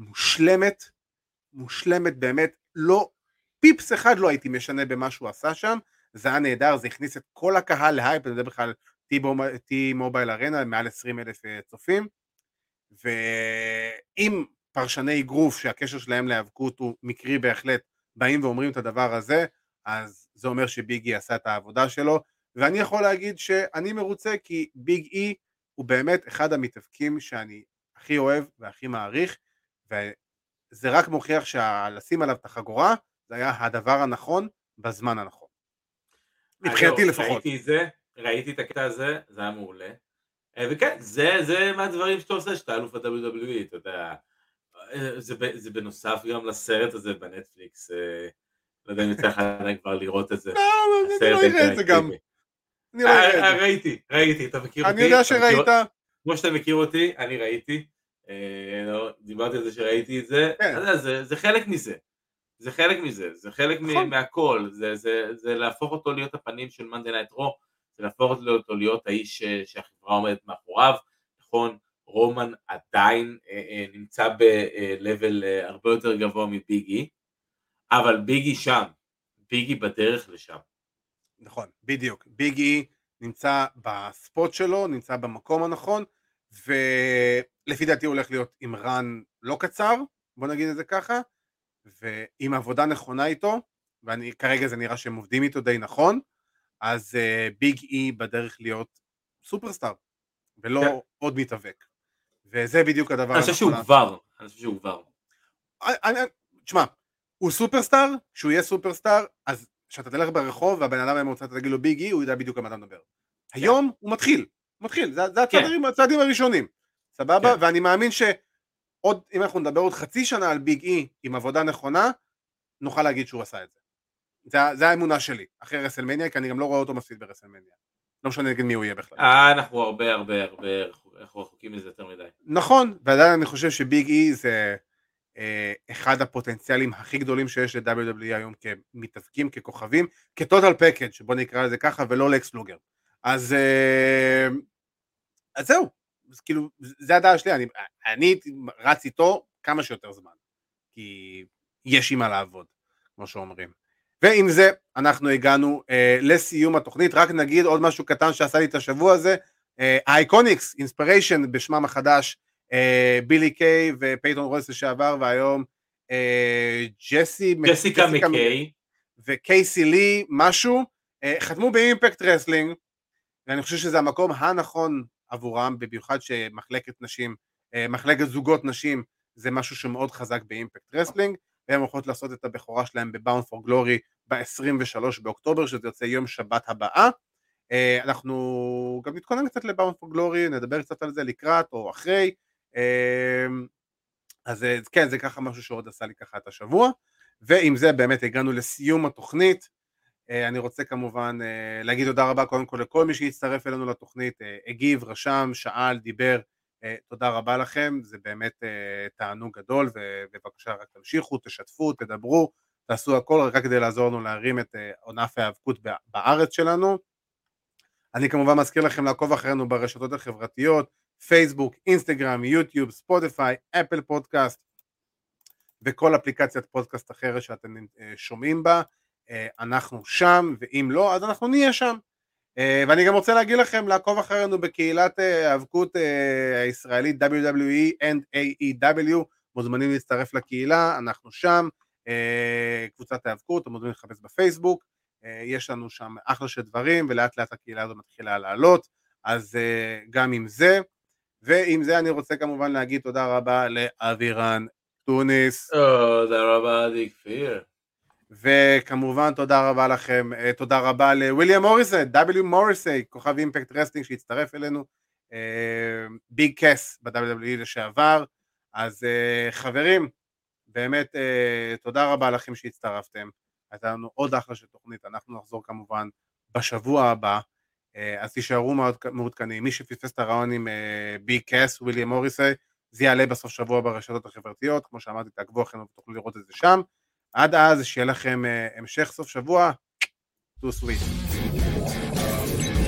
מושלמת באמת, לא, פיפס אחד לא הייתי משנה במה שהוא עשה שם, זה היה נהדר, זה הכניס את כל הקהל להייפ, אני יודע בכלל T-Mobile Arena, מעל 20,000 צופים, ואם פרשני אגרוף שהקשר שלהם להיאבקות הוא מקרי בהחלט, באים ואומרים את הדבר הזה, אז זה אומר שביג אי עשה את העבודה שלו, ואני יכול להגיד שאני מרוצה, כי ביג אי הוא באמת אחד המתאבקים שאני הכי אוהב והכי מעריך, וזה רק מוכיח שלשים עליו את החגורה, זה היה הדבר הנכון בזמן הנכון. מבחינתי לפחות. ראיתי את הקטע הזה, זה היה מעולה. וכן, זה מהדברים שאתה עושה, שאתה אלוף ה-WWE, אתה יודע, זה בנוסף גם לסרט הזה בנטפליקס, לא יודע אם יצא לך כבר לראות את זה. לא, אני לא אראה את זה גם. ראיתי, אתה מכיר אותי? אני יודע שראית. כמו שאתה מכיר אותי, אני ראיתי, דיברתי על זה שראיתי את זה, זה חלק מזה. זה חלק מהכל, זה להפוך אותו להיות הפנים של Monday Night Raw, זה להפוך אותו להיות האיש שהחברה עומדת מאחוריו, נכון, רומן עדיין נמצא בלבל הרבה יותר גבוה מביגי, אבל ביגי שם, ביגי בדרך לשם. נכון, בדיוק, ביגי נמצא בספוט שלו, נמצא במקום הנכון, ולפי דעתי הוא הולך להיות עם רן לא קצר, בוא נגיד את זה ככה, ועם עבודה נכונה איתו, וכרגע זה נראה שהם עובדים איתו די נכון, אז ביג אי בדרך להיות סופרסטאר, ולא עוד מתאבק. וזה בדיוק הדבר הנכון. אני חושב שהוא כבר. תשמע, הוא סופרסטאר, כשהוא יהיה סופרסטאר, אז כשאתה תלך ברחוב, והבן אדם המוצא, אתה תגיד לו ביג אי, הוא יודע בדיוק על מה אתה מדבר. היום הוא מתחיל, זה הצעדים הראשונים, סבבה? ואני מאמין שעוד, אם אנחנו נדבר עוד חצי שנה על ביג אי, עם עבודה נכונה, נוכל להגיד שהוא עשה את זה. זה האמונה שלי, אחרי רסלמניה, כי אני גם לא רואה אותו מפסיד ברסלמניה. לא משנה נגד מי הוא יהיה בכלל. אנחנו הרבה רחוקים מזה יותר מדי. נכון, ועדיין אני חושב שביג אי זה אחד הפוטנציאלים הכי גדולים שיש ל-WWE היום כמתאבקים, ככוכבים, כטוטל פקאג', בוא נקרא לזה ככה, ולא לקס לוגר. אז זהו, אז כאילו, זה הדעה שלי, אני רץ איתו כמה שיותר זמן, כי יש עם מה לעבוד, כמו שאומרים. ועם זה אנחנו הגענו לסיום התוכנית, רק נגיד עוד משהו קטן שעשה לי את השבוע הזה, האייקוניקס, אינספיריישן בשמם החדש, בילי קיי ופייטון רויס לשעבר, והיום ג'סיקה מקיי וקייסי לי משהו, חתמו באימפקט רסלינג, ואני חושב שזה המקום הנכון עבורם, במיוחד שמחלקת נשים, מחלקת זוגות נשים, זה משהו שמאוד חזק באימפקט רסלינג, והם הולכות לעשות את הבכורה שלהם בבאונד פור גלורי ב-23 באוקטובר, שזה יוצא יום שבת הבאה. אנחנו גם נתכונן קצת לבאונד פור גלורי, נדבר קצת על זה לקראת או אחרי, אז כן, זה ככה משהו שעוד עשה לי ככה את השבוע, ועם זה באמת הגענו לסיום התוכנית. אני רוצה כמובן להגיד תודה רבה קודם כל לכל מי שהצטרף אלינו לתוכנית, הגיב, רשם, שאל, דיבר, תודה רבה לכם, זה באמת תענוג גדול, ובבקשה רק תמשיכו, תשתפו, תדברו, תעשו הכל רק כדי לעזור לנו להרים את ענף ההיאבקות בארץ שלנו. אני כמובן מזכיר לכם לעקוב אחרינו ברשתות החברתיות, פייסבוק, אינסטגרם, יוטיוב, ספוטיפיי, אפל פודקאסט, וכל אפליקציית פודקאסט אחרת שאתם שומעים בה, אנחנו שם, ואם לא, אז אנחנו נהיה שם. ואני גם רוצה להגיד לכם לעקוב אחרינו בקהילת האבקות הישראלית WWE and AEW, מוזמנים להצטרף לקהילה, אנחנו שם, קבוצת האבקות, אתם מוזמנים לחפש בפייסבוק, יש לנו שם אחלה של דברים, ולאט לאט הקהילה הזו מתחילה לעלות, אז גם עם זה, ועם זה אני רוצה כמובן להגיד תודה רבה לאבירן טוניס. תודה רבה עדי כפיר. וכמובן תודה רבה לכם, תודה רבה לוויליאם מוריסי, W מוריסי, כוכב אימפקט רסלינג שהצטרף אלינו, ביג קס ב-WWE לשעבר. אז חברים, באמת תודה רבה לכם שהצטרפתם, הייתה לנו עוד אחלה של תוכנית, אנחנו נחזור כמובן בשבוע הבא, אז תישארו מעודכנים, מי שפספס את הרעיון עם ביג קס, וויליאם מוריסי, זה יעלה בסוף שבוע ברשתות החברתיות, כמו שאמרתי, תעקבו אחרינו ותוכלו לראות את זה שם, עד אז שיהיה לכם המשך סוף שבוע, too sweet.